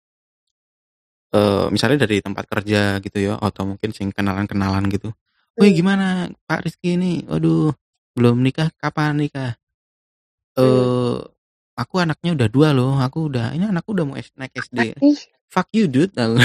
[SPEAKER 1] eh misalnya dari tempat kerja gitu ya atau mungkin sing kenalan-kenalan gitu. Wih
[SPEAKER 2] Mmm,
[SPEAKER 1] gimana Pak Rizky ini? Waduh, belum nikah, kapan nikah?
[SPEAKER 2] mmm.
[SPEAKER 1] Eh aku anaknya udah dua loh. Aku udah ini anakku udah mau S- naik S D.
[SPEAKER 2] Tapi
[SPEAKER 1] Fuck you dude. Aku.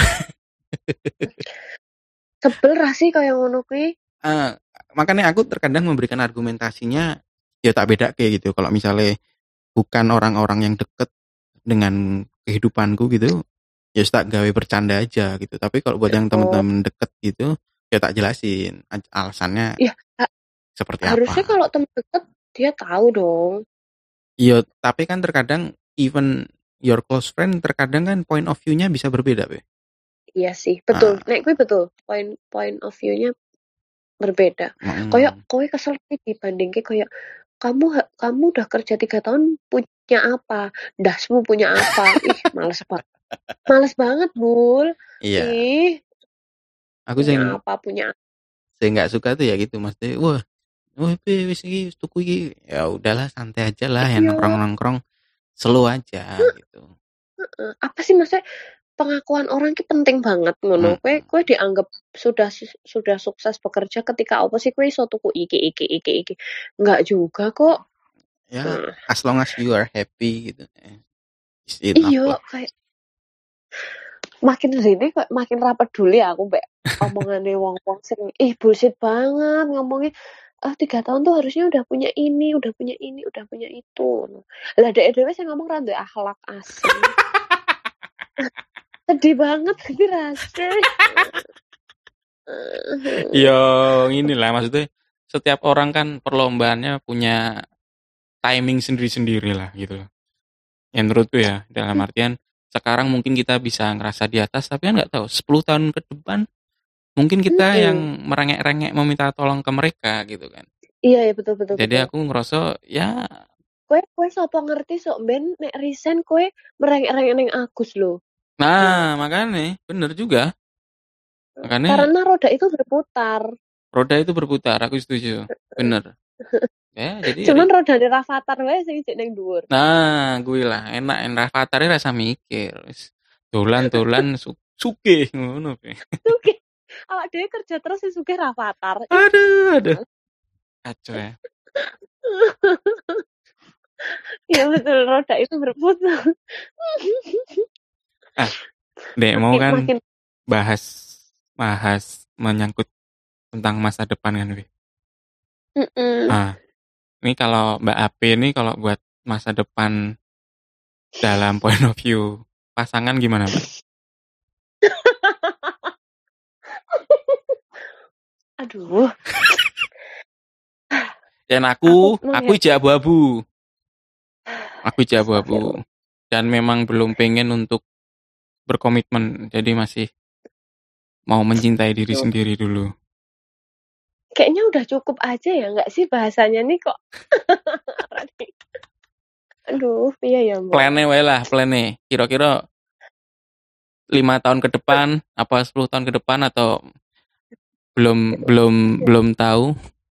[SPEAKER 2] sebel ra sih kaya ngono kuwi?
[SPEAKER 1] Ah, makanya aku terkadang memberikan argumentasinya ya tak beda kayak gitu. Kalau misalnya bukan orang-orang yang deket dengan kehidupanku gitu, ya tak gawe bercanda aja gitu. Tapi kalau buat yang
[SPEAKER 2] Oh,
[SPEAKER 1] temen-temen deket gitu, ya tak jelasin aj- alasannya
[SPEAKER 2] ya ha
[SPEAKER 1] seperti
[SPEAKER 2] harusnya
[SPEAKER 1] apa.
[SPEAKER 2] kalau temen deket dia tahu dong.
[SPEAKER 1] Iya, tapi kan terkadang even your close friend terkadang kan point of view-nya bisa berbeda, Be.
[SPEAKER 2] Iya sih, betul.
[SPEAKER 1] Ah,
[SPEAKER 2] Nek kuwi betul, point point of view-nya berbeda. Kayak
[SPEAKER 1] mm,
[SPEAKER 2] kowe kesel nih dibandingke kayak kamu ha kamu udah kerja tiga tahun punya apa? Dasmu punya apa? Ih, males banget. Males banget, Bul.
[SPEAKER 1] iya,
[SPEAKER 2] Ih,
[SPEAKER 1] aku
[SPEAKER 2] punya
[SPEAKER 1] sing
[SPEAKER 2] apa punya
[SPEAKER 1] saya nggak suka tuh ya gitu, maksudnya, wah, wah, Be, wis iki wis tuku iki. Ya udahlah, santai aja lah, ya
[SPEAKER 2] iya,
[SPEAKER 1] nongkrong-nongkrong, slow aja gitu.
[SPEAKER 2] heeh. Apa sih maksudnya pengakuan orang ki penting banget ngono. Kowe
[SPEAKER 1] Mm,
[SPEAKER 2] kowe dianggap sudah sudah sukses bekerja ketika apa sih kowe iso tuku iki iki iki iki. Enggak juga kok.
[SPEAKER 1] ya,
[SPEAKER 2] Nah,
[SPEAKER 1] as long as you are happy gitu, eh, is enough
[SPEAKER 2] iya
[SPEAKER 1] lah.
[SPEAKER 2] kayak makin sini kok makin ra peduli aku mbek omongane wong-wong sing ih bullshit banget ngomongnya ah tiga tahun tuh harusnya udah punya ini, udah punya ini, udah punya itu. Lah dhek dhewe sing ngomong ra duwe akhlak asli. Sedih banget iki rasanya.
[SPEAKER 1] Ya, inilah maksudnya setiap orang kan perlombaannya punya timing sendiri-sendiri lah gitu loh. Yang menurutku ya, dalam artian sekarang mungkin kita bisa ngerasa di atas, tapi kan nggak tahu sepuluh tahun ke depan mungkin kita yang
[SPEAKER 2] Mhm.
[SPEAKER 1] merengek-rengek meminta tolong ke mereka gitu kan.
[SPEAKER 2] Iya ya betul betul
[SPEAKER 1] Jadi
[SPEAKER 2] betul.
[SPEAKER 1] aku ngerasa ya,
[SPEAKER 2] Kowe kowe sapa ngerti sok ben nek resign kowe merengek-rengek ning Agus lho. Nah,
[SPEAKER 1] nah makanya bener juga. Makanya
[SPEAKER 2] karena roda itu berputar.
[SPEAKER 1] roda itu berputar, aku setuju. Bener. Ya, jadi
[SPEAKER 2] Cuman
[SPEAKER 1] ri-
[SPEAKER 2] rodane Rafathar wae sing isih ning dhuwur.
[SPEAKER 1] nah gue lah enak enak Rafathar rasa mikir. Wis dolan-dolan su sugih ngono. Pe.
[SPEAKER 2] Sugih. Awak dhewe kerja terus sing sugih Rafathar. Ih,
[SPEAKER 1] Aduh, aduh.
[SPEAKER 2] males.
[SPEAKER 1] Kacau ya.
[SPEAKER 2] Iya betul, roda itu berputar.
[SPEAKER 1] Ah, Dek mau
[SPEAKER 2] Makin
[SPEAKER 1] kan
[SPEAKER 2] makin
[SPEAKER 1] bahas bahas menyangkut tentang masa depan kan, Wi.
[SPEAKER 2] mhm.
[SPEAKER 1] Ah, ini kalau Mbak Ape ini kalau buat masa depan dalam point of view pasangan gimana, Mbak?
[SPEAKER 2] Aduh,
[SPEAKER 1] Dan
[SPEAKER 2] aku
[SPEAKER 1] aku, aku
[SPEAKER 2] melihat
[SPEAKER 1] ija abu-abu. Aku ija abu-abu.
[SPEAKER 2] astagfirullah.
[SPEAKER 1] Dan memang belum pengen untuk berkomitmen. Jadi masih mau mencintai diri sendiri dulu.
[SPEAKER 2] Kayaknya udah cukup aja ya nggak sih bahasanya nih kok. Aduh, iya ya Mbak.
[SPEAKER 1] Plannya wae lah, plannya. Kira-kira lima tahun ke depan, apa sepuluh tahun ke depan atau belum belum belum tahu.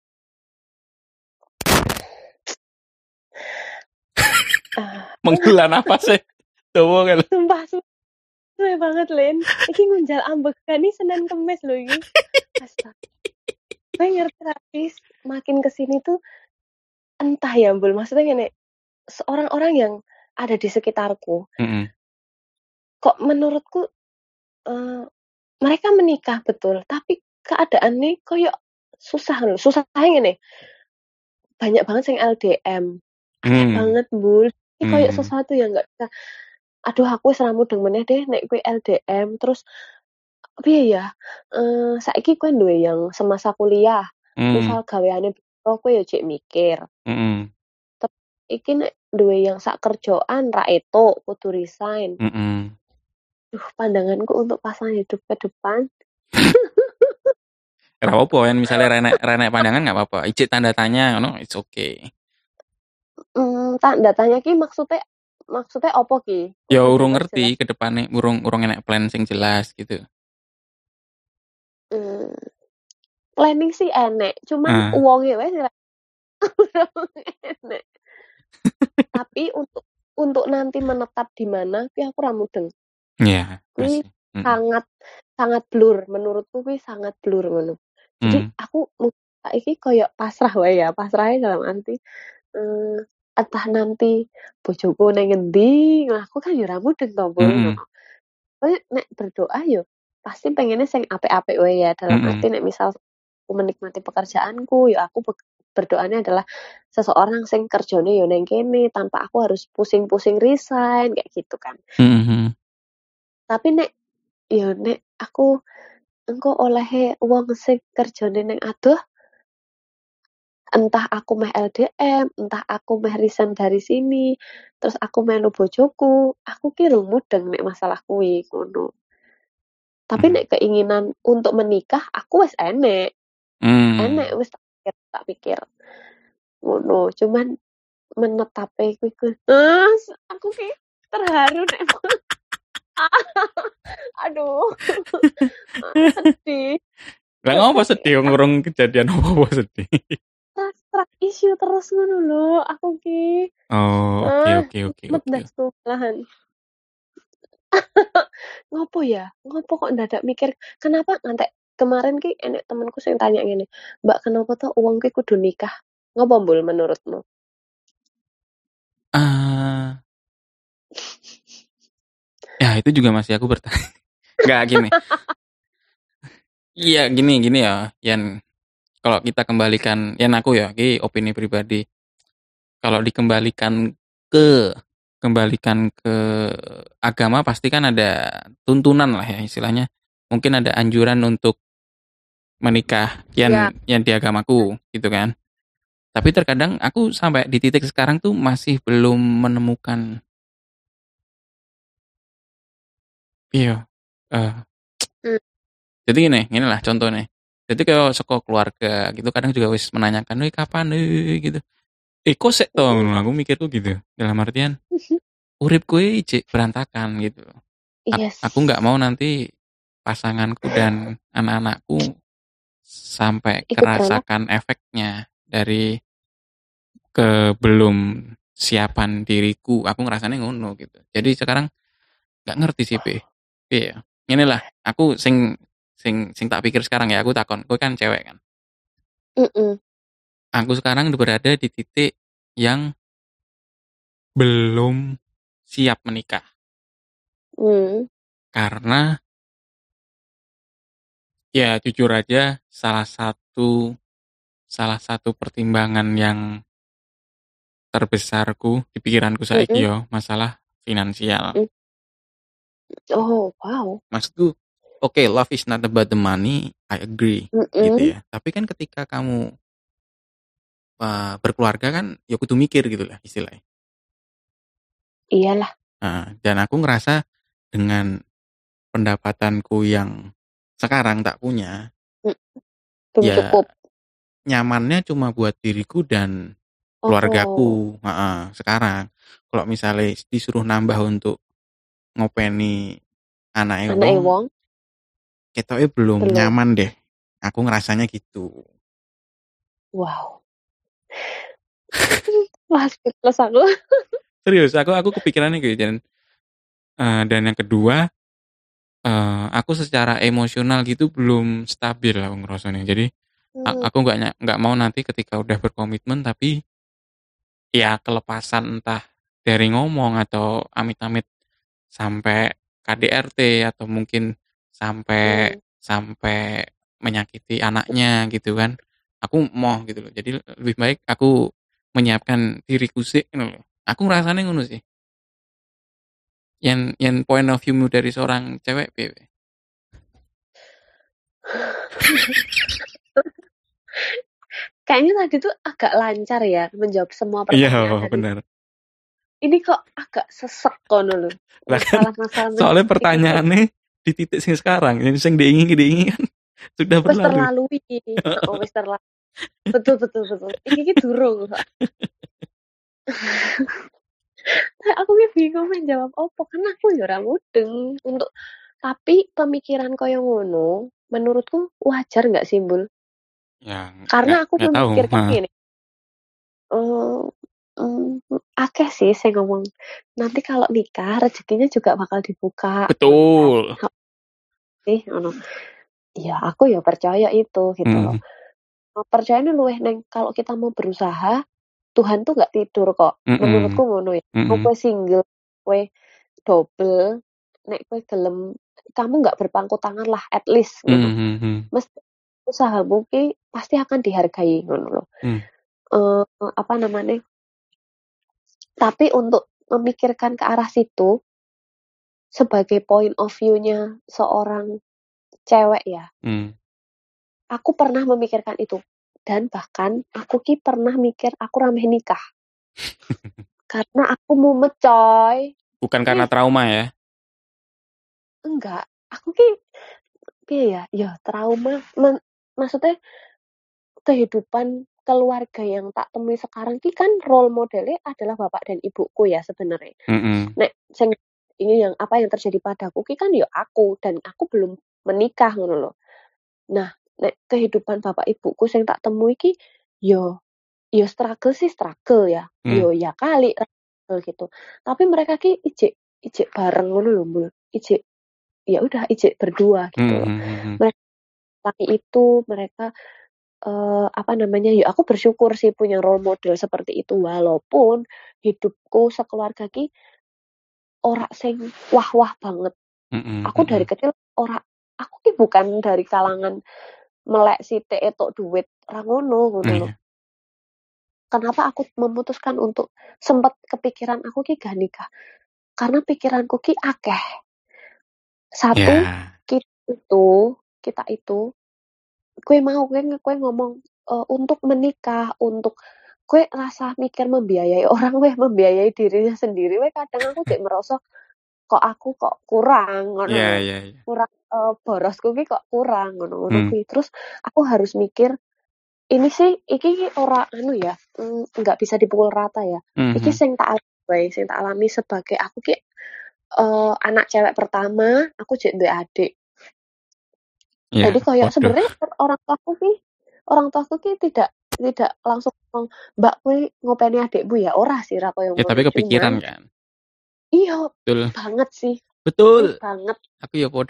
[SPEAKER 2] Ah,
[SPEAKER 1] Menghela napas sih. Tuh kan.
[SPEAKER 2] sumpah suwe banget Lin. Iki ngunjal ambekan nih Senin Kemis loh iki. Astaga. Gue ngerti tapi makin kesini tuh entah ya Mbul. Maksudnya gini, orang-orang yang ada di sekitarku,
[SPEAKER 1] Mm-mm.
[SPEAKER 2] kok menurutku eh, mereka menikah betul, tapi keadaannya kayak susah loh. Susahnya gini, banyak banget yang L D M. Aneh
[SPEAKER 1] Hmm.
[SPEAKER 2] banget Mbul. Ini kayak
[SPEAKER 1] Hmm.
[SPEAKER 2] sesuatu yang nggak bisa. Aduh aku wis ra mudeng meneh deh nek kowe L D M terus piye ya, eee, saiki kowe duwe yang semasa kuliah,
[SPEAKER 1] Hmm.
[SPEAKER 2] misal gaweane beda kowe ya jek mikir.
[SPEAKER 1] Mm-mm.
[SPEAKER 2] Tep iki nek duwe yang sak kerjaan ra etuk, kudu resign.
[SPEAKER 1] Mm-mm.
[SPEAKER 2] Duh, pandanganku untuk pasangan hidup ke depan.
[SPEAKER 1] Ora apa-apa yen misale renek renek pandangan nggak apa-apa. Ijik tanda tanya ngono, it's okay.
[SPEAKER 2] Mmm, tanda tanya ki maksudnya maksudnya opo ki?
[SPEAKER 1] Ya
[SPEAKER 2] Ojo
[SPEAKER 1] urung ngerti
[SPEAKER 2] jelas-jelas.
[SPEAKER 1] ke depane, urung urung enek plan sing jelas gitu.
[SPEAKER 2] Mmm, planning sih enek, cuman
[SPEAKER 1] Ah.
[SPEAKER 2] wonge wae sing ra enek. Tapi untuk untuk nanti menetap di mana kuwi aku ra mudeng.
[SPEAKER 1] Iya,
[SPEAKER 2] Kuwi
[SPEAKER 1] masih. Mm.
[SPEAKER 2] sangat sangat blur, menurutku kuwi sangat blur ngono. Jadi
[SPEAKER 1] Hmm.
[SPEAKER 2] aku mu saiki koyo pasrah wae ya, pasrahe dalam arti, eee, entah nanti bojoku ning ngendi, nah aku kan ya ora mudeng to, Bul,
[SPEAKER 1] Mm-mm.
[SPEAKER 2] ngono. Tapi nek berdoa yo pasti pengennya sing apik-apik wae ya, dalam arti
[SPEAKER 1] Mm-mm.
[SPEAKER 2] nek misal aku menikmati pekerjaanku, ya aku bek berdoanya adalah seseorang sing kerjane yo ning kene tanpa aku harus pusing-pusing resign kayak gitu kan.
[SPEAKER 1] Mhm.
[SPEAKER 2] Tapi nek ya nek aku engko olehe wong sing kerjane ning adoh, entah aku meh L D M, entah aku meh resign dari sini, terus aku melu bojoku, aku ki rung mudeng nek masalah kuwi, ngono. Tapi
[SPEAKER 1] Mhm.
[SPEAKER 2] nek keinginan untuk menikah aku wis enek, enek
[SPEAKER 1] Mmm.
[SPEAKER 2] wis tak pikir tak pikir, ngono. Cuman menetape kuwi ku ah, aku ki terharu nek aduh, sedih.
[SPEAKER 1] Lah ngopo
[SPEAKER 2] Stres
[SPEAKER 1] sedih wong urung kejadian apa-apa sedih?
[SPEAKER 2] stres trust issue terus ngono lho aku ki.
[SPEAKER 1] Oh, oke
[SPEAKER 2] Ah,
[SPEAKER 1] oke oke
[SPEAKER 2] mumet
[SPEAKER 1] oke.
[SPEAKER 2] ndasku malahan. Ngopo ya? Ngopo kok ndadak mikir, kenapa ngantek kemarin ki enek temenku sing tanya ngene, "Mbak, kenapa toh wong ki kudu nikah?" Ngopo Mbul menurutmu?
[SPEAKER 1] Ah, ya itu juga masih aku bertanya. Nggak gini. Iya gini gini ya, Yan. Kalau kita kembalikan, Yan aku ya, ini opini pribadi. Kalau dikembalikan ke kembalikan ke agama pasti kan ada tuntunan lah ya istilahnya. Mungkin ada anjuran untuk menikah
[SPEAKER 2] Ya.
[SPEAKER 1] yang yang di agamaku gitu kan. Tapi terkadang aku sampai di titik sekarang tuh masih belum menemukan iya. eh
[SPEAKER 2] Mmm,
[SPEAKER 1] jadi gini, gini lah contohnya. Jadi kalau sekolah keluarga gitu kadang juga wis menanyakan, "Wih kapan eh?" gitu. Eh kok sik to
[SPEAKER 2] mhm.
[SPEAKER 1] ngono aku mikir tuh gitu. Dalam artian urip kuwi ijik berantakan gitu.
[SPEAKER 2] Iya
[SPEAKER 1] Aku nggak
[SPEAKER 2] sih,
[SPEAKER 1] mau nanti pasanganku dan anak-anakku sampai
[SPEAKER 2] ikut beranak
[SPEAKER 1] kerasakan efeknya dari kebelum siapan diriku. Aku ngerasanya ngono gitu. Jadi sekarang nggak ngerti sih, Pe. Iya. Inilah aku sing sing sing tak pikir sekarang ya, aku takon, kowe kan cewek kan.
[SPEAKER 2] mhm,
[SPEAKER 1] Aku sekarang berada di titik yang belum siap menikah.
[SPEAKER 2] mmm,
[SPEAKER 1] Karena ya jujur aja salah satu salah satu pertimbangan yang terbesarku di pikiranku saiki
[SPEAKER 2] mhm,
[SPEAKER 1] yo masalah finansial.
[SPEAKER 2] mhm. Oh, wow,
[SPEAKER 1] Maksudku, oke, okay, love is not about the money, I agree, gitu
[SPEAKER 2] mhm,
[SPEAKER 1] ya. Tapi kan ketika kamu uh, berkeluarga kan, ya kudu mikir gitu lah istilahnya.
[SPEAKER 2] iyalah,
[SPEAKER 1] Nah, dan aku ngerasa dengan pendapatanku yang sekarang tak punya,
[SPEAKER 2] mhm, belum
[SPEAKER 1] ya
[SPEAKER 2] cukup.
[SPEAKER 1] nyamannya cuma buat diriku dan
[SPEAKER 2] Oh,
[SPEAKER 1] keluargaku. Heeh, sekarang, kalau misalnya disuruh nambah untuk ngopeni anaknya
[SPEAKER 2] anake
[SPEAKER 1] wong,
[SPEAKER 2] wong
[SPEAKER 1] ketoknya belum
[SPEAKER 2] belum.
[SPEAKER 1] nyaman deh. Aku ngerasanya gitu.
[SPEAKER 2] Wow, wah speechless aku.
[SPEAKER 1] Serius, aku aku kepikirannya gitu dan eh, dan yang kedua, eh, aku secara emosional gitu belum stabil aku ngerasanya. Jadi a-
[SPEAKER 2] Mmm,
[SPEAKER 1] aku nggak ny- nggak mau nanti ketika udah berkomitmen tapi ya kelepasan entah dari ngomong atau amit-amit sampai K D R T atau mungkin sampai
[SPEAKER 2] mmm,
[SPEAKER 1] sampai menyakiti anaknya gitu kan. Aku mau gitu loh. Jadi lebih baik aku menyiapkan diriku sih gitu loh. Aku ngerasanya ngono sih. Yang yang point of view dari seorang cewek piye?
[SPEAKER 2] Kayaknya tadi tuh agak lancar ya menjawab semua
[SPEAKER 1] Iya,
[SPEAKER 2] pertanyaan dari
[SPEAKER 1] benar.
[SPEAKER 2] ini kok agak sesek kono lho.
[SPEAKER 1] Lah kan
[SPEAKER 2] Masalah-masalah
[SPEAKER 1] soalnya
[SPEAKER 2] menjawab iki kok
[SPEAKER 1] pertanyaannya di titik sing sekarang, yang sing diingi diingi kan sudah
[SPEAKER 2] wis
[SPEAKER 1] berlalu.
[SPEAKER 2] terlalui. Heeh, wis terlalu. Betul betul betul. Iki ki durung kok. Aku ki bingung menjawab opo karena aku ya ora mudeng untuk tapi pemikiran koyo ngono menurutku wajar nggak sih, Bul?
[SPEAKER 1] Ya, nggak
[SPEAKER 2] Karena aku
[SPEAKER 1] nggak tahu.
[SPEAKER 2] memikirkan
[SPEAKER 1] Heeh.
[SPEAKER 2] gini, eee, mmm, akeh sih sing ngomong, nanti kalau nikah rezekinya juga bakal dibuka, ngono kan.
[SPEAKER 1] Betul.
[SPEAKER 2] Sih ngono. Ya aku ya percaya itu gitu loh.
[SPEAKER 1] Mhm.
[SPEAKER 2] Percayanya luwih neng kalau kita mau berusaha, Tuhan tuh nggak tidur kok.
[SPEAKER 1] Mhm.
[SPEAKER 2] Menurutku ngono ya. Mau
[SPEAKER 1] Mhm.
[SPEAKER 2] kowe single, kowe double, nek kowe gelem kamu nggak berpangku tangan lah at least ngono.
[SPEAKER 1] Mhm, mhm.
[SPEAKER 2] Mesti usahamu ki pasti akan dihargai ngono loh.
[SPEAKER 1] Hmm.
[SPEAKER 2] Eee, apa namanya? Tapi untuk memikirkan ke arah situ sebagai point of view-nya seorang cewek ya.
[SPEAKER 1] Hmm.
[SPEAKER 2] Aku pernah memikirkan itu dan bahkan aku ki pernah mikir aku rameh nikah. Karena aku mumet coy.
[SPEAKER 1] Bukan karena
[SPEAKER 2] Eh,
[SPEAKER 1] trauma ya?
[SPEAKER 2] enggak. Aku ki piye ya? Ya trauma men, maksudnya kehidupan keluarga yang tak temui sekarang ki kan role modelnya adalah bapak dan ibuku ya sebenarnya.
[SPEAKER 1] Mhm.
[SPEAKER 2] Nek sing ini yang apa yang terjadi padaku ki kan ya aku dan aku belum menikah ngono loh. Nah, nek kehidupan bapak ibuku sing tak temui ki yo yo struggle sih struggle ya.
[SPEAKER 1] Hmm.
[SPEAKER 2] Yo ya kali struggle gitu. Tapi mereka ki ijek ijek bareng ngono lho, Mbul. Ijek ya udah ijek berdua gitu loh.
[SPEAKER 1] Mhm, mhm.
[SPEAKER 2] Mereka laki itu mereka eh, apa namanya? Ya aku bersyukur sih punya role model seperti itu walaupun hidupku sekeluarga ki ora sing wah-wah banget.
[SPEAKER 1] Mhm,
[SPEAKER 2] Aku dari
[SPEAKER 1] mhm.
[SPEAKER 2] kecil ora aku ki bukan dari kalangan melek sithik etok duit ra ngono ngono loh.
[SPEAKER 1] Iya.
[SPEAKER 2] Kenapa aku memutuskan untuk sempat kepikiran aku ki gak nikah? Karena pikiranku ki akeh. Satu,
[SPEAKER 1] Ya.
[SPEAKER 2] kita itu, kita itu, kue mau kue kue ngomong uh, untuk menikah, untuk kue rasa mikir membiayai orang, kue membiayai dirinya sendiri, kue kadang aku cek merasa kok aku kok kurang, ngono
[SPEAKER 1] Iya,
[SPEAKER 2] loh.
[SPEAKER 1] iya, iya.
[SPEAKER 2] Kurang uh, borosku ki kok kurang, ngono ngono
[SPEAKER 1] Hmm.
[SPEAKER 2] kuwi. Terus aku harus mikir ini sih iki ora anu ya, nggak mm, bisa dipukul rata ya.
[SPEAKER 1] Mhm.
[SPEAKER 2] Iki sing tak alami, sing tak alami sebagai aku ki uh, anak cewek pertama, aku jek duwe adik.
[SPEAKER 1] Ya,
[SPEAKER 2] Jadi kayak
[SPEAKER 1] waduh.
[SPEAKER 2] sebenarnya orang tuaku ki, orang tuaku ki tidak tidak langsung ngomong, "Mbak kuwi ngopeni adikmu ya?" Ora sih ra koyo
[SPEAKER 1] Ya tapi
[SPEAKER 2] ngono,
[SPEAKER 1] kepikiran
[SPEAKER 2] cuman
[SPEAKER 1] kan?
[SPEAKER 2] iya
[SPEAKER 1] Betul.
[SPEAKER 2] banget sih. Ih,
[SPEAKER 1] Betul.
[SPEAKER 2] banget.
[SPEAKER 1] Aku ya podo.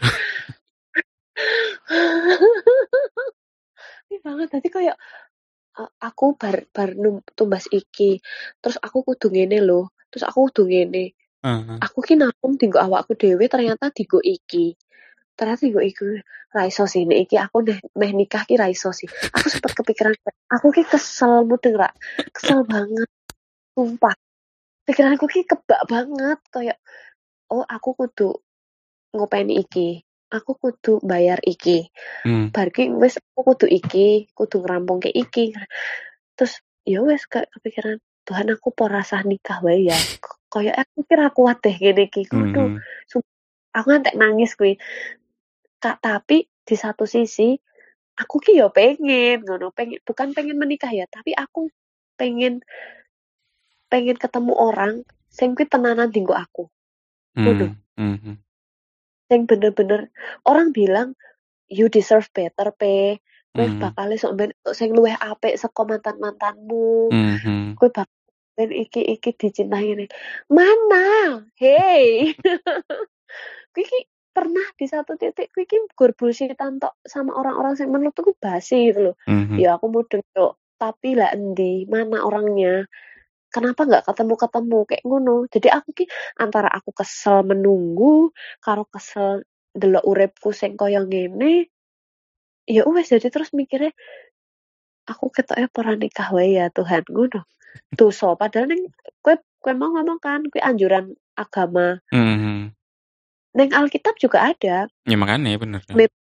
[SPEAKER 2] Ih, banget. Tadi kayak uh, aku bar bar num, tumbas iki, terus aku kudu ngene lho, terus aku kudu ngene.
[SPEAKER 1] Heeh.
[SPEAKER 2] Aku ki nanggung dinggo awakku dhewe ternyata dinggo iki. Ternyata dinggo iki ra iso sih nek iki aku meh, meh nikah ki ra iso sih. Aku sempat kepikiran aku ki kesel mudeng ra. Kesel banget, sumpah. Pikiranku ki kebak banget kayak oh aku kudu ngopeni iki. Aku kudu bayar iki.
[SPEAKER 1] Hmm.
[SPEAKER 2] Bar ki wis aku kudu iki, kudu ngerampungke iki. Terus ya wis kayak kepikiran Tuhan aku po rasah nikah wae ya. Kayak aku kira kuat deh gini iki. Kudu.
[SPEAKER 1] Mhm.
[SPEAKER 2] Aku ngantek nangis kuwi. Kak, tapi di satu sisi aku ki yo pengen ngono, pengen bukan pengen menikah ya, tapi aku pengen pengen ketemu orang sing kuwi tenanan dinggo aku. Ngono.
[SPEAKER 1] Hmm. Mhm.
[SPEAKER 2] Sing bener-bener orang bilang you deserve better pe. Kowe
[SPEAKER 1] Mhm.
[SPEAKER 2] bakal sok ben sing luwih apik saka mantan-mantanmu.
[SPEAKER 1] Mhm.
[SPEAKER 2] Kowe bakal ben iki iki dicintai ini. Mana? Hey. Kuwi ki pernah di satu titik kuwi ki gur bullshit-an tok sama orang-orang sing menurutku basi gitu loh.
[SPEAKER 1] Mhm.
[SPEAKER 2] Ya aku mudeng tok, tapi lah endi, mana orangnya? Kenapa nggak ketemu-ketemu kayak ngono? Jadi aku ki antara aku kesel menunggu karo kesel delok uripku sing kaya ngene. Ya wes jadi terus mikirnya aku ketoknya ora nikah wae ya Tuhan ngono. Dosa padahal ning kowe kowe mau ngomong kan kuwi anjuran agama.
[SPEAKER 1] Mhm.
[SPEAKER 2] Ning Alkitab juga ada.
[SPEAKER 1] Ya makanya bener kan.
[SPEAKER 2] Mem-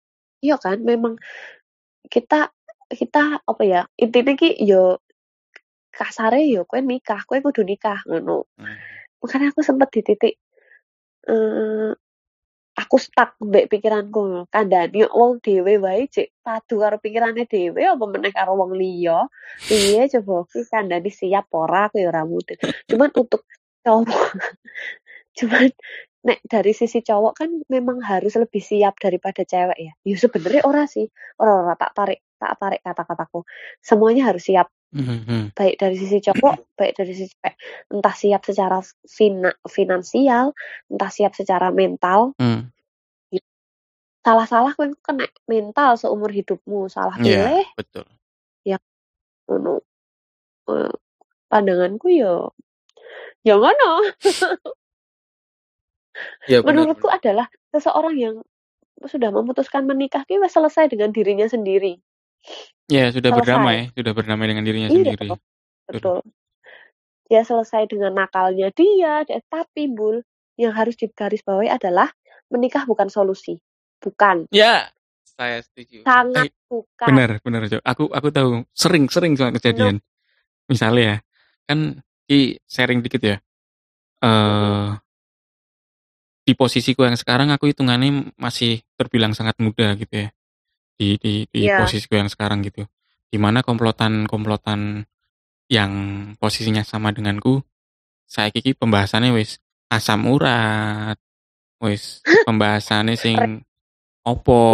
[SPEAKER 2] Iya kan, memang kita kita apa ya, intine ki yo kasare yo kowe nikah, kowe kudu nikah ngono.
[SPEAKER 1] Hmm.
[SPEAKER 2] Makanya aku sempet di titik eee, aku stuck mbek pikiranku, kandhani wong dhewe wae jek padu karo pikirane dhewe apa meneh karo wong liya. Piye coba ki kandhani siap ora aku ya ora mudeng. Cuman untuk cowok cuman nek dari sisi cowok kan memang harus lebih siap daripada cewek ya. Ya sebenarnya ora sih, ora ora tak tarik tak tarik kata-kataku. Semuanya harus siap.
[SPEAKER 1] Mhm.
[SPEAKER 2] Baik dari sisi cowok, baik dari sisi cewek. Entah siap secara fina finansial, entah siap secara mental.
[SPEAKER 1] Hmm.
[SPEAKER 2] Salah-salah kowe kena mental seumur hidupmu, salah
[SPEAKER 1] Iya,
[SPEAKER 2] pilih
[SPEAKER 1] betul.
[SPEAKER 2] ya ngono. Eee, pandanganku ya ya ngono.
[SPEAKER 1] Iya benar
[SPEAKER 2] Menurutku
[SPEAKER 1] benar.
[SPEAKER 2] adalah seseorang yang sudah memutuskan menikah ki wis selesai dengan dirinya sendiri.
[SPEAKER 1] Ya sudah
[SPEAKER 2] Selesai.
[SPEAKER 1] berdamai, sudah berdamai dengan dirinya
[SPEAKER 2] Iya,
[SPEAKER 1] sendiri. Sudah.
[SPEAKER 2] betul. Dia selesai dengan nakalnya dia, de tapi Bul, yang harus digarisbawahi adalah menikah bukan solusi. Bukan.
[SPEAKER 1] Ya, saya setuju.
[SPEAKER 2] Sangat
[SPEAKER 1] Eh,
[SPEAKER 2] bukan.
[SPEAKER 1] benar benar, Jo. Aku aku tahu sering-sering soal
[SPEAKER 2] No.
[SPEAKER 1] kejadian. Misalnya ya, kan di sharing dikit ya.
[SPEAKER 2] Heeh.
[SPEAKER 1] Eh di posisiku yang sekarang aku hitungannya masih terbilang sangat muda gitu ya. Di di di
[SPEAKER 2] Iya.
[SPEAKER 1] posisiku yang sekarang gitu. Dimana komplotan-komplotan yang posisinya sama denganku, saya kiki pembahasannya wis asam urat, wis pembahasannya sing opo,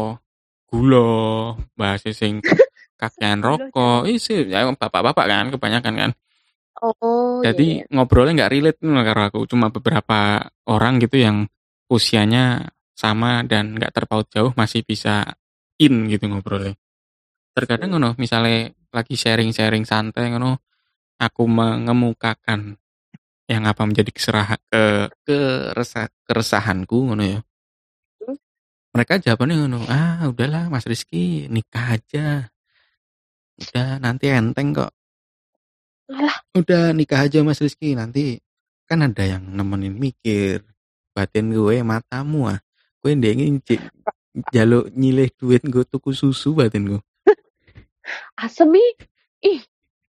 [SPEAKER 1] gula, bahasa sing kakean
[SPEAKER 2] Gula Jawa.
[SPEAKER 1] rokok, isi ya bapak-bapak kan kebanyakan kan.
[SPEAKER 2] Oh, iya
[SPEAKER 1] Jadi
[SPEAKER 2] iya.
[SPEAKER 1] ngobrolnya nggak relate nih karo aku, cuma beberapa orang gitu yang usianya sama dan nggak terpaut jauh masih bisa in gitu ngobrolnya. Terkadang
[SPEAKER 2] Hmm.
[SPEAKER 1] ngono, misalnya lagi sharing-sharing santai ngono, aku mengemukakan yang apa menjadi keseraha, ke keresa, keresahanku ngono ya.
[SPEAKER 2] Hmm.
[SPEAKER 1] Mereka jawabannya ngono, ah udahlah Mas Rizky nikah aja, udah nanti enteng kok.
[SPEAKER 2] Alah,
[SPEAKER 1] Udah nikah aja Mas Rizky, nanti kan ada yang nemenin mikir. Batin gue matamu ah. Gue ndengin jaluk nyilih duit gue tuku susu batin gue.
[SPEAKER 2] asem ih. Ih,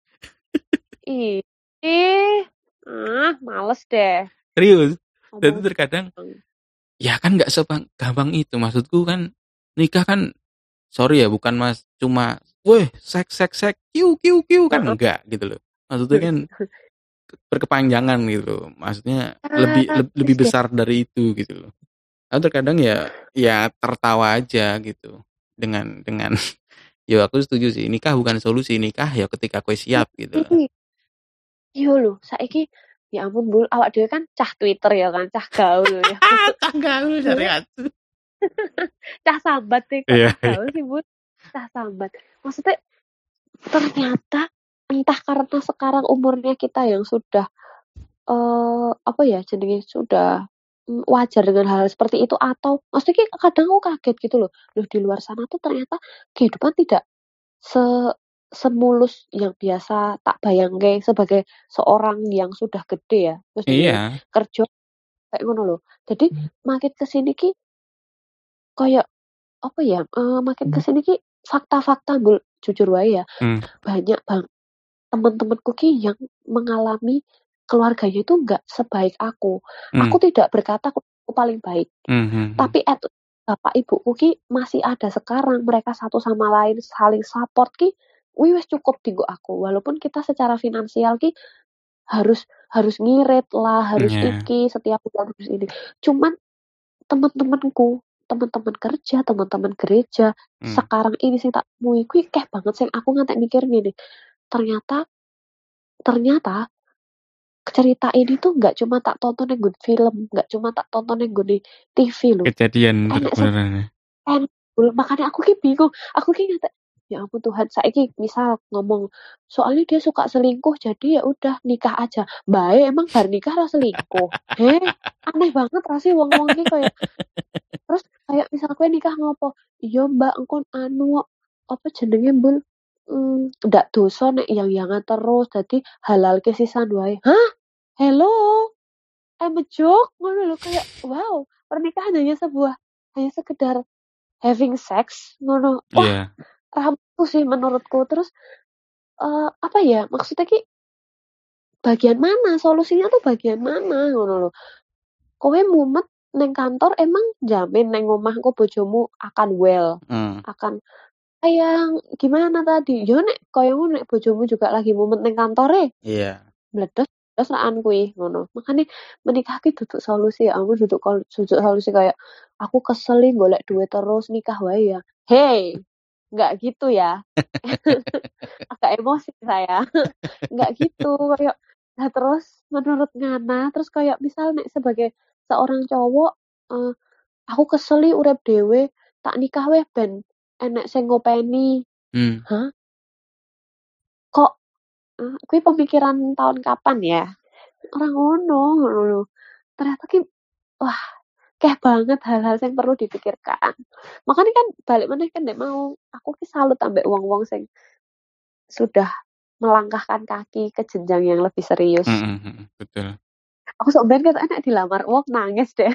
[SPEAKER 2] ih. Ih. Ah, males deh.
[SPEAKER 1] Serius. Dan
[SPEAKER 2] Ngomong.
[SPEAKER 1] terkadang ya kan nggak segampang itu. Maksudku kan nikah kan sorry ya bukan mas cuma weh sek sek sek kiu kiu kiu kan
[SPEAKER 2] Heeh.
[SPEAKER 1] enggak gitu loh. Maksudnya kan berkepanjangan gitu loh. Maksudnya lebih
[SPEAKER 2] Ah,
[SPEAKER 1] le- lebih
[SPEAKER 2] wis deh.
[SPEAKER 1] besar dari itu gitu loh. Atau terkadang ya ya tertawa aja gitu dengan dengan ya aku setuju sih nikah bukan solusi, nikah ya ketika kue siap gitu loh.
[SPEAKER 2] Ih, iya lho, saiki ya ampun Bul, awak dhewe kan cah Twitter ya kan, cah gaul ya.
[SPEAKER 1] Ah, tanggal
[SPEAKER 2] Dhewe
[SPEAKER 1] syariat.
[SPEAKER 2] cah sambat sih, kok
[SPEAKER 1] Iya,
[SPEAKER 2] cah
[SPEAKER 1] iya.
[SPEAKER 2] gaul sih Bul, cah sambat. Maksudnya ternyata entah karena sekarang umurnya kita yang sudah eh apa ya jenenge sudah mm, wajar dengan hal seperti itu atau maksudnya ki kadang aku kaget gitu loh. Loh di luar sana tuh ternyata kehidupan tidak se semulus yang biasa tak bayangke sebagai seorang yang sudah gede ya. Terus duwe
[SPEAKER 1] Iya.
[SPEAKER 2] kerja kayak ngono loh. Jadi makin kesini ki kayak apa ya? eh, makin kesini ki fakta-fakta Bul, jujur wae ya.
[SPEAKER 1] Hmm.
[SPEAKER 2] Banyak bang teman-temanku ki yang mengalami keluarganya itu nggak sebaik aku.
[SPEAKER 1] Hmm.
[SPEAKER 2] Aku tidak berkata aku paling baik,
[SPEAKER 1] Hmm. Hmm. Hmm.
[SPEAKER 2] tapi at bapak ibuku ki masih ada sekarang. Mereka satu sama lain saling support ki, wih wis cukup tinggu aku. Walaupun kita secara finansial ki harus harus ngirit lah, harus
[SPEAKER 1] Iya.
[SPEAKER 2] iki setiap bulan harus ini. Cuman teman-temanku, teman-teman kerja, teman-teman gereja
[SPEAKER 1] Hmm.
[SPEAKER 2] sekarang ini sih tak temui, kuwi keh banget sih aku ngantek mikir gini. Ternyata ternyata cerita ini tuh nggak cuma tak tonton yang gue film, nggak cuma tak tonton yang gue T V loh.
[SPEAKER 1] Kejadian
[SPEAKER 2] Enek
[SPEAKER 1] bener-beneran.
[SPEAKER 2] enek makanya aku ki bingung. Aku ki ngata, ya ampun Tuhan, saiki misal ngomong soalnya dia suka selingkuh jadi ya udah nikah aja. Baik emang bar nikah lah selingkuh. Heh, aneh banget rasih wong-wong ki kayak terus kayak misal gue nikah ngopo? Iya Mbak, engko anu apa jenenge Bul? Hmm, ndak dosa nek yang-yangan terus dadi halal ke sisan wae. Hah? Hello? I'm a joke ngono lho kayak wow, pernikahan hanya sebuah hanya sekedar having sex ngono. Wah,
[SPEAKER 1] Iya.
[SPEAKER 2] rampus sih menurutku. Terus uh, apa ya? Maksudnya ki bagian mana? Solusinya tuh bagian mana ngono lho. Kowe mumet neng kantor emang jamin neng omahku bojomu akan well,
[SPEAKER 1] Hmm.
[SPEAKER 2] akan sayang gimana tadi? Yo nek koyo nek bojomu juga lagi mumet neng kantore.
[SPEAKER 1] Iya.
[SPEAKER 2] Meledos terus rakan kuwi ngono. Makane menikah ki duduk solusi ya, aku duduk duduk solusi kayak aku kesel golek duit terus nikah wae ya. Hey, enggak gitu ya. Agak emosi saya. Enggak gitu kayak nah terus menurut Ngana terus kayak misal nek sebagai seorang cowok uh, aku kesel urip dhewe tak nikah weh ben enek sing ngopeni.
[SPEAKER 1] Hmm.
[SPEAKER 2] Hah? Kok uh, kuwi pemikiran tahun kapan ya? Orang ngono ngono. Ternyata ki wah, keh banget hal-hal yang perlu dipikirkan. Makanya kan balik meneh kan nek mau aku ki salut ambek wong-wong sing sudah melangkahkan kaki ke jenjang yang lebih serius.
[SPEAKER 1] Mm-hmm, betul.
[SPEAKER 2] Aku sok ben ketok enek dilamar wong nangis deh.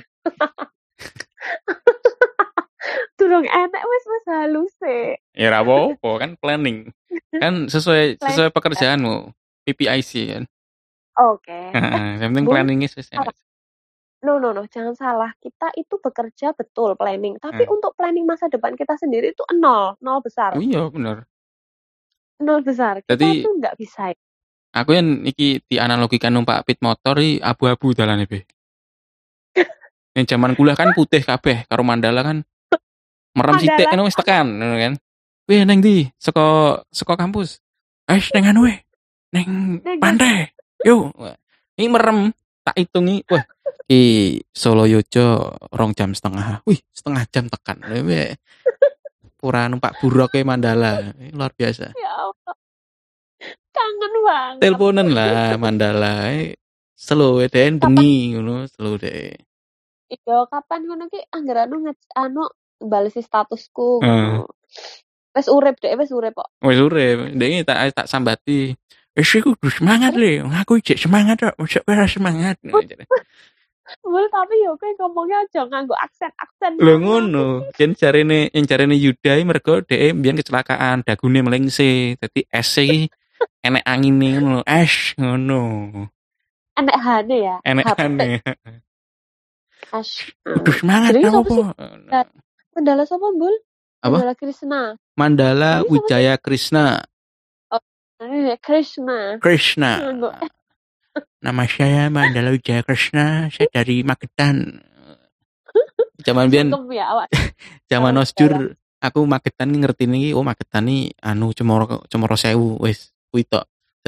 [SPEAKER 2] Durung enek wis wis halus e.
[SPEAKER 1] Ya ora apa-apa kan planning. Kan sesuai sesuai pekerjaanmu. P P I C kan.
[SPEAKER 2] Oke. Okay.
[SPEAKER 1] Yang penting planningnya sesuai.
[SPEAKER 2] No, no, no, jangan salah. Kita itu bekerja betul planning, tapi hmm. untuk planning masa depan kita sendiri itu nol, nol besar.
[SPEAKER 1] Oh iya, benar.
[SPEAKER 2] Nol besar. Kita Jadi, tuh nggak bisa.
[SPEAKER 1] Aku yang iki dianalogikan numpak pit motor iki abu-abu dalane be. Yang zaman kuliah kan putih kabeh, karo Mandala kan merem sithik ngono wis tekan, ngono kan. Weh neng ndi? Saka saka kampus. Eh neng anu weh. Neng pantai. Yo. Ini merem tak hitungi. Wah, i Solo Yojo rong jam setengah. Wih, setengah jam tekan. Pura numpak buruk ke Mandala. Luar biasa.
[SPEAKER 2] Ya Allah. Kangen banget.
[SPEAKER 1] Teleponan lah Mandala. Slow deh bengi ngono, slow deh.
[SPEAKER 2] Iya, kapan ngono ki anggere anu anu balesi statusku ngono. Wis urip deh, wis urip kok.
[SPEAKER 1] Wis urip. Ndek tak tak sambati. Wis iku kudu semangat le. Aku iki semangat kok, mosok ora semangat.
[SPEAKER 2] Mul tapi yo kowe ngomongnya aja nganggo aksen-aksen.
[SPEAKER 1] Lho ngono. Yen jarene yen jarene Yuda mergo dhek mbiyen kecelakaan, dagune melengse. Dadi es iki enek angine ngono, es ngono.
[SPEAKER 2] Enek hane ya.
[SPEAKER 1] Enek hane.
[SPEAKER 2] As.
[SPEAKER 1] Kudu semangat aku.
[SPEAKER 2] Mandala sapa, Bul?
[SPEAKER 1] Mandala
[SPEAKER 2] Krishna.
[SPEAKER 1] Mandala Wijaya Krishna.
[SPEAKER 2] Oh, Krishna.
[SPEAKER 1] Krishna. Nama saya Mandala Wijaya Krishna. Saya dari Magetan. Zaman biyen. Zaman Osjur aku Magetan ngerti nih, oh Magetan nih anu Cemoro Cemoro Sewu wis kuwi tok.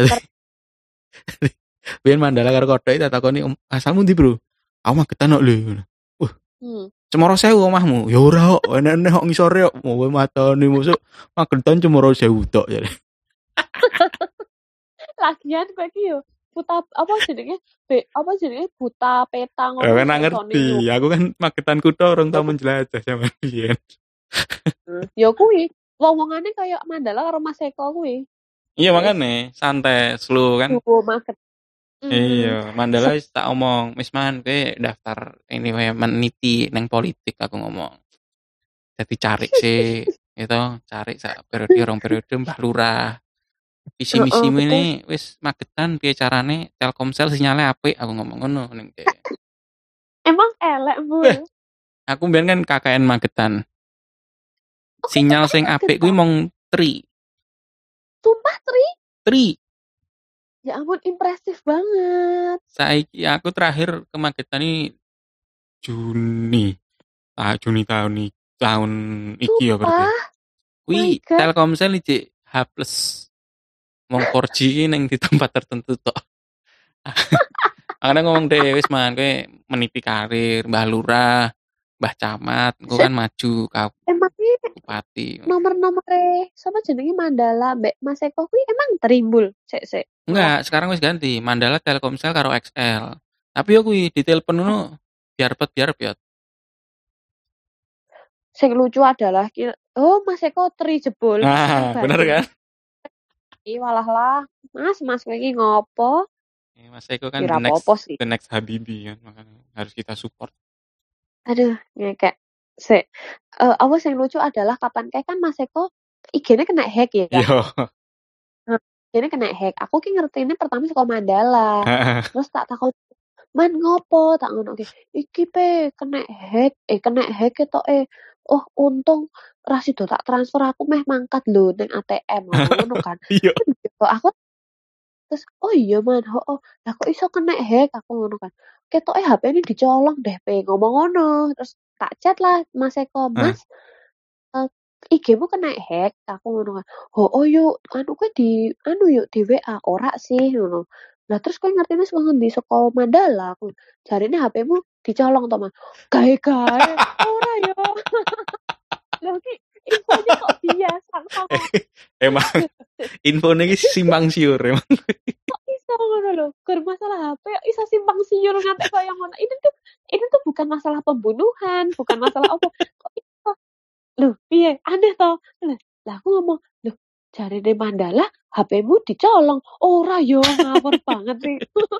[SPEAKER 1] Biyen Mandala karo kodhoke tak takoni asalmu ndi, Bro? Aku Magetan kok lho. Wah. Hmm. Cemoro Sewu omahmu. Ya ora kok, enek-enek kok ngisore kok. Mau matane mosok Magetan Cemoro Sewu tok jare.
[SPEAKER 2] Lagian kowe iki yo buta apa jenenge? Be, apa jenenge? Buta peta
[SPEAKER 1] ngono. Kan ngerti. Aku kan Magetan kutho orang tau menjelajah zaman biyen.
[SPEAKER 2] Ya kuwi, wong-wongane kaya Mandala karo Mas Eko kuwi.
[SPEAKER 1] Iya makane, santai, slow kan.
[SPEAKER 2] Oh, Maget.
[SPEAKER 1] Mm. Iya, Mandala wis tak omong, wis man kowe daftar ini wae meniti nang politik aku ngomong. Jadi cari sih, gitu, cari sak periode rong periode Mbah Lurah. Visi misi uh, ini wis Magetan piye carane Telkomsel sinyalnya apik aku ngomong ngono ning
[SPEAKER 2] Emang elek, Bu.
[SPEAKER 1] Aku mbiyen kan K K N Magetan. Sinyal sing apik kuwi mong tri.
[SPEAKER 2] Sumpah tri?
[SPEAKER 1] Tri.
[SPEAKER 2] Ya ampun impresif banget.
[SPEAKER 1] Saiki aku terakhir ke Magetan ini Juni. Ah Juni tahun ini, tahun iki ya berarti. Kuwi Telkomsel iki H plus. Mong four G ning di tempat tertentu tok. Karena ngomong deh wis man kowe menipi karir Mbah Lurah, Mbah Camat, engko kan maju ka bupati.
[SPEAKER 2] Nomor-nomore sapa jenenge Mandala mbek Mas Eko kuwi emang terimbul sik-sik.
[SPEAKER 1] Enggak, sekarang wis ganti. Mandala Telkomsel karo X L. Tapi yo kuwi ditelepon ngono biar pet biar piot.
[SPEAKER 2] Sing lucu adalah oh Mas Eko tri jebul.
[SPEAKER 1] Nah, bener kan?
[SPEAKER 2] Ih walah lah, Mas, Mas kowe iki ngopo?
[SPEAKER 1] Ya, Mas Eko kan the next, the next Habibie kan, makanya harus kita support.
[SPEAKER 2] Aduh, ngekek. Sik, uh, apa yang lucu adalah kapan kayak kan Mas Eko I G-nya kena hack ya.
[SPEAKER 1] Iya.
[SPEAKER 2] Nah, ini kena hack. Aku ki ngertine pertama saka Mandala. Terus tak takon, "Man ngopo?" Tak ngono ki. "Iki pe kena hack, eh kena hack ketoke. Oh, untung ra sida tak transfer aku meh mangkat lho ning A T M." Ngono kan.
[SPEAKER 1] Iya.
[SPEAKER 2] Aku terus, "Oh iya Man, hooh. Lah kok iso kena hack?" Aku ngono kan. Ketoke H P-ne dicolong deh pe ngomong ngono. Terus tak chat lah Mas Eko, "Mas, uh, I G-mu kena hack." Aku ngono kan. "Hooh yuk, anu kowe di anu yuk di W A." "Ora sih," ngono. Lah terus kowe ngertine saka ngendi? Saka Mandala aku. Jarine H P-mu dicolong to, Mas. Gae-gae, ora yo. Lho ki infonya kok biasa sama.
[SPEAKER 1] Emang infonya iki simpang siur emang.
[SPEAKER 2] Kok iso ngono lho? Gur masalah H P iso simpang siur ngantek kaya ngono. Ini tuh ini tuh bukan masalah pembunuhan, bukan masalah apa. Kok iso? Loh, piye? Aneh toh? Lah aku ngomong, "Loh, jarine Mandala H P-mu dicolong." "Ora yo, ngawur banget sih."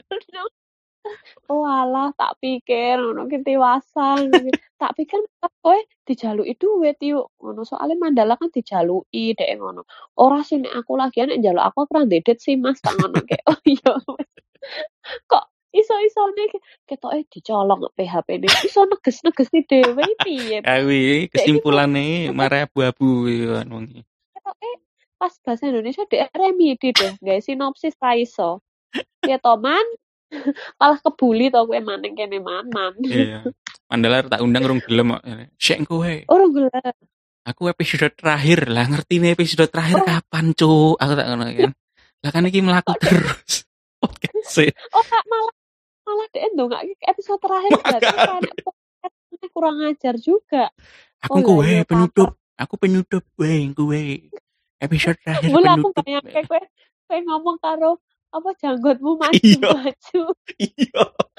[SPEAKER 2] Oalah, tak pikir ngono ki tiwasan. Tak pikir kowe dijaluki duit yuk ngono. Soale Mandala kan dijaluki dhek ngono. Ora sih nek aku lagian nek njaluk aku ora ndedet sih Mas tak ngono kek. Oh iya wis. Kok iso-isone ketoke dicolong P H P-ne. Iso neges-negesi dhewe piye?
[SPEAKER 1] Kawi kesimpulane mare abu-abu kan wong iki.
[SPEAKER 2] Ketoke pas bahasa Indonesia dhek remedi deh, gawe sinopsis ra iso. Piye to Man? Malah kebuli to kowe maning kene Man-man.
[SPEAKER 1] Iya. Mandala tak undang rung gelem kok. Sik kowe.
[SPEAKER 2] Ora gelem.
[SPEAKER 1] Aku episode terakhir lah, ngerti nih episode terakhir oh. Kapan cuk? Aku tak ngono kan. Lah kan iki mlaku terus. Podcast.
[SPEAKER 2] Oh, kak malah malah dhek ndongake episode terakhir berarti kan kurang ajar juga.
[SPEAKER 1] Aku oh, kowe ya, penutup. Aku penutup kowe kowe. Episode terakhir
[SPEAKER 2] Bula,
[SPEAKER 1] penutup.
[SPEAKER 2] Aku bayangke kowe kowe ngomong karo apa janggutmu maju-maju.
[SPEAKER 1] Iya.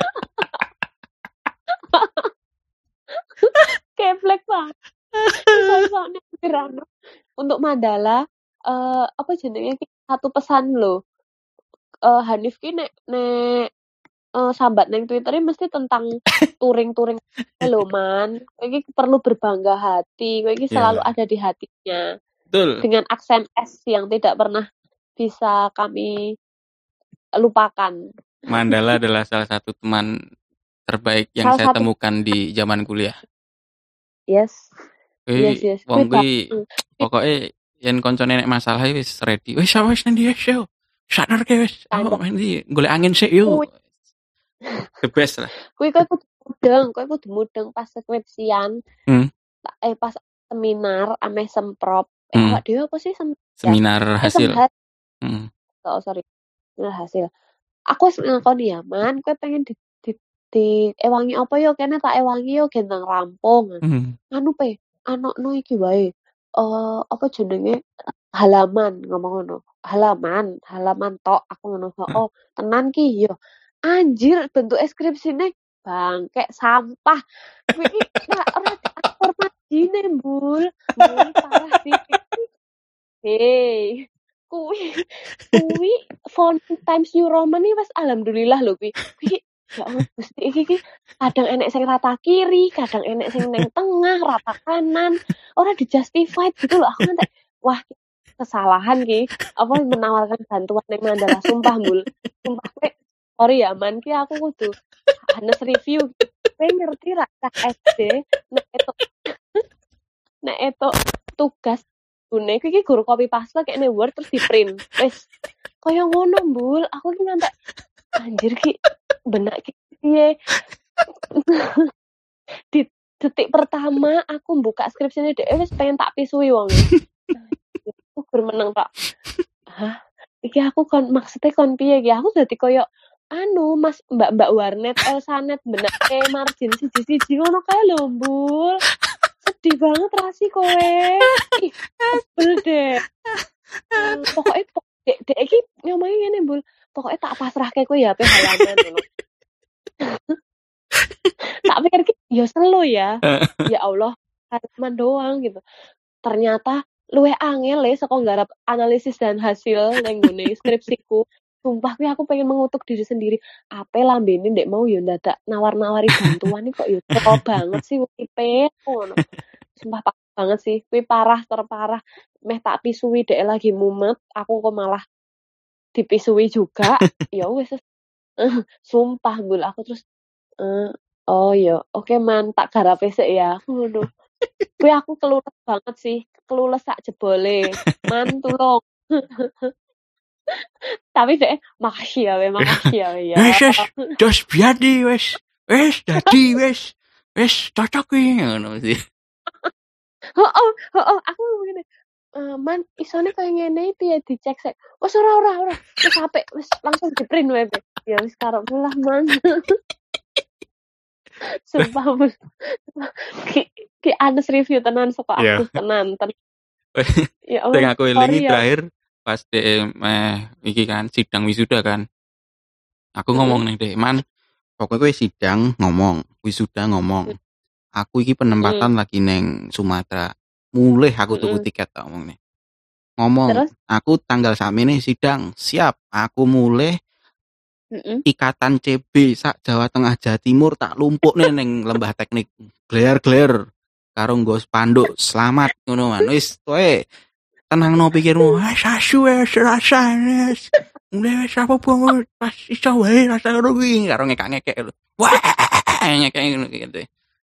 [SPEAKER 2] Keplek banget. Soalnya gerano untuk Mandala uh, apa jenenge satu pesan loh. Uh, Hanif ki nek nek uh, sambat neng Twitter mesti tentang touring-touring lho Man. Kowe iki perlu berbangga hati. Kowe iki selalu yeah. ada di hatinya.
[SPEAKER 1] Betul.
[SPEAKER 2] Dengan aksen S yang tidak pernah bisa kami lupakan.
[SPEAKER 1] Mandala adalah salah satu teman terbaik yang salah saya satu... temukan di zaman kuliah.
[SPEAKER 2] Yes.
[SPEAKER 1] Wih, yes, yes. Wong kuwi pokoke yen koncone nek masalah wis ready. Wis wis nang ndi show. Sadar ke wis. Oh, ndi golek angin sik yo. The best lah.
[SPEAKER 2] Kuwi kok kudu mudeng, kowe kudu mudeng pas skripsian.
[SPEAKER 1] Hmm.
[SPEAKER 2] Eh pas seminar ame semprop. Eh
[SPEAKER 1] hmm.
[SPEAKER 2] awak dhewe apa sih sem-
[SPEAKER 1] seminar ya? hasil.
[SPEAKER 2] Eh,
[SPEAKER 1] hmm.
[SPEAKER 2] Oh, sorry. Seminar hasil. Aku wis ngakoni ya, Man, kowe pengen di di, di ewangi apa yo kene tak ewangi yo gendang rampung.
[SPEAKER 1] Hmm.
[SPEAKER 2] Anu pe, anokno iki wae. Eh uh, apa jenenge halaman ngomong ngono. Halaman, halaman tok aku ngono. Oh, tenan ki yo. Anjir bentuk skripsine bangkek sampah. Kuwi iki ora aktor majine, Bul. Bul parah sih. Hei. Kuwi kuwi font Times New Roman iki wis alhamdulillah lho kuwi. Kuwi ya Allah Gusti iki kadang enek sing rata kiri, kadang enek sing neng tengah, rata kanan. Ora di-justified gitu loh. Aku ngantek wah kesalahan ki apa menawarkan bantuan ning Mandala sumpah Bul. Sumpah kowe sorry ya Man ki aku kudu hanes review. Kowe ngerti ra S D nek itu nek itu tugas gune iki guru copy paste kene Word terus di print. Wis kaya ngono Bul. Aku ki ngantek anjir ki benak ki piye. Di detik pertama aku buka skripsine dhek wis pengen tak pisui wong. Aku gur meneng tak. Hah? Iki aku kon maksudnya kon piye iki? Aku dadi koyo anu Mas Mbak-mbak warnet Elsanet benake margin siji-siji ngono kae lho, Bul. Sedih banget rasi kowe. Ih, sebel deh. Hmm, pokoknya dek dek iki ngomongin ngene, Bul. Pokoknya tak pasrahke kowe ya H P halaman ngono. Tak pikir ki ya selo ya. Ya Allah, halaman doang gitu. Ternyata luwih angel le saka nggarap analisis dan hasil ning ngene skripsiku. Sumpah kuwi aku pengen mengutuk diri sendiri. Ape lambene ndek mau yo ndadak nawar-nawari bantuan iki kok yo teko banget sih uripe ngono. Sumpah parah banget sih. Kuwi parah terparah. Meh tak pisui dhek lagi mumet, aku kok malah dipisui juga. Ya wis sumpah Bul aku terus eh, oh ya oke man tak garape sik ya ngono. Kuwi aku kelulus banget sih, kelulus sak jebole. Man tulung. Tapi deh, makasih ya, we, makasih ya, we, ya.
[SPEAKER 1] Wes wes, jos biadi wes, wes dadi wes, wes cocok iki ngono sih.
[SPEAKER 2] Heeh, heeh, aku ngene. Uh, man, isone kaya ngene piye dicek sik. Wes ora ora ora. Wis apik, wis langsung di-print wae. Ya wis karepmu lah, Man. Sumpah, Bu. Ki, ki honest review tenan saka aku, tenan, tenan. Ya
[SPEAKER 1] Sing
[SPEAKER 2] Allah.
[SPEAKER 1] aku elingi terakhir pas dhek meh iki kan sidang wisuda kan. Aku ngomong ning dhek, "Man, pokoknya kowe sidang ngomong, wisuda ngomong. Aku iki penempatan mm. lagi neng Sumatera. Mulih aku tuku tiket tak ngomong nih. Ngomong, terus? Aku tanggal sakmene sidang, siap. Aku mulih Mm-mm. Ikatan C B sak Jawa Tengah Jawa Timur tak lumpuk nih neng lembah teknik. Gler-gler karo nggo spanduk selamat ngono man. Wis kowe tenangno pikirmu. Wis asu wis rasa wis. Mulai wis apa banget pas iso wae rasa ngono kuwi karo ngekak-ngekek lho. Wah, ngekek ngono gitu.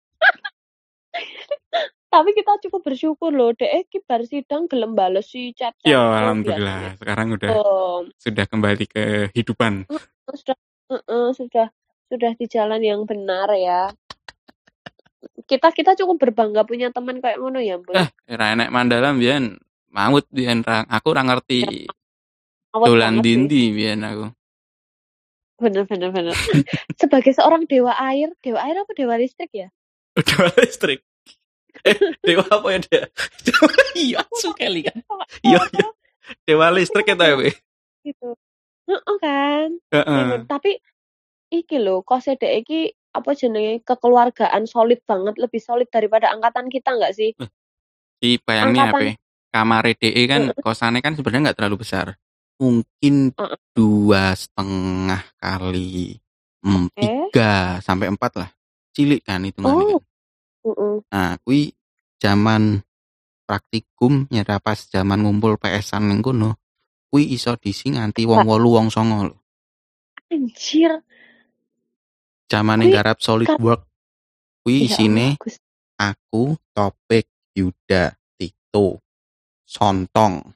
[SPEAKER 2] Tapi kita cukup bersyukur loh, dek ki bar sidang gelem bales si chat-chat.
[SPEAKER 1] Ya alhamdulillah, biasanya. Sekarang udah oh. sudah kembali ke kehidupan.
[SPEAKER 2] Sudah uh, sudah sudah di jalan yang benar ya. Kita kita cukup berbangga punya teman kayak ngono ya, Bu.
[SPEAKER 1] Eh, ra enek Mandala mbiyen maut mbiyen aku ora ngerti. Dolan dindi mbiyen aku.
[SPEAKER 2] Bener bener bener. Sebagai seorang dewa air, dewa air apa dewa listrik ya?
[SPEAKER 1] Dewa listrik. Eh, dewa apa ya dia? Iya, sekali kan. Iya, iya. Dewa listrik itu ya, Be.
[SPEAKER 2] Gitu. Heeh kan? Uh-uh. Tapi iki lho, kose dek iki apa jenenge kekeluargaan solid banget, lebih solid daripada angkatan kita enggak sih?
[SPEAKER 1] Di bayangnya apa? Kamar D E kan uh-uh. kosannya kan sebenarnya enggak terlalu besar. Mungkin uh-uh. dua setengah kali mm, okay. tiga sampai empat lah. Cilik kan hitungannya. Oh. Uh-uh. Nah, kui zaman praktikum nyata pas zaman ngumpul P S-an ning kono, kui iso disi nganti wong wolu wong songo lho.
[SPEAKER 2] Anjir.
[SPEAKER 1] Zaman ning garap solid work. Kui isine aku, Topik, Yuda, Tito, Sontong.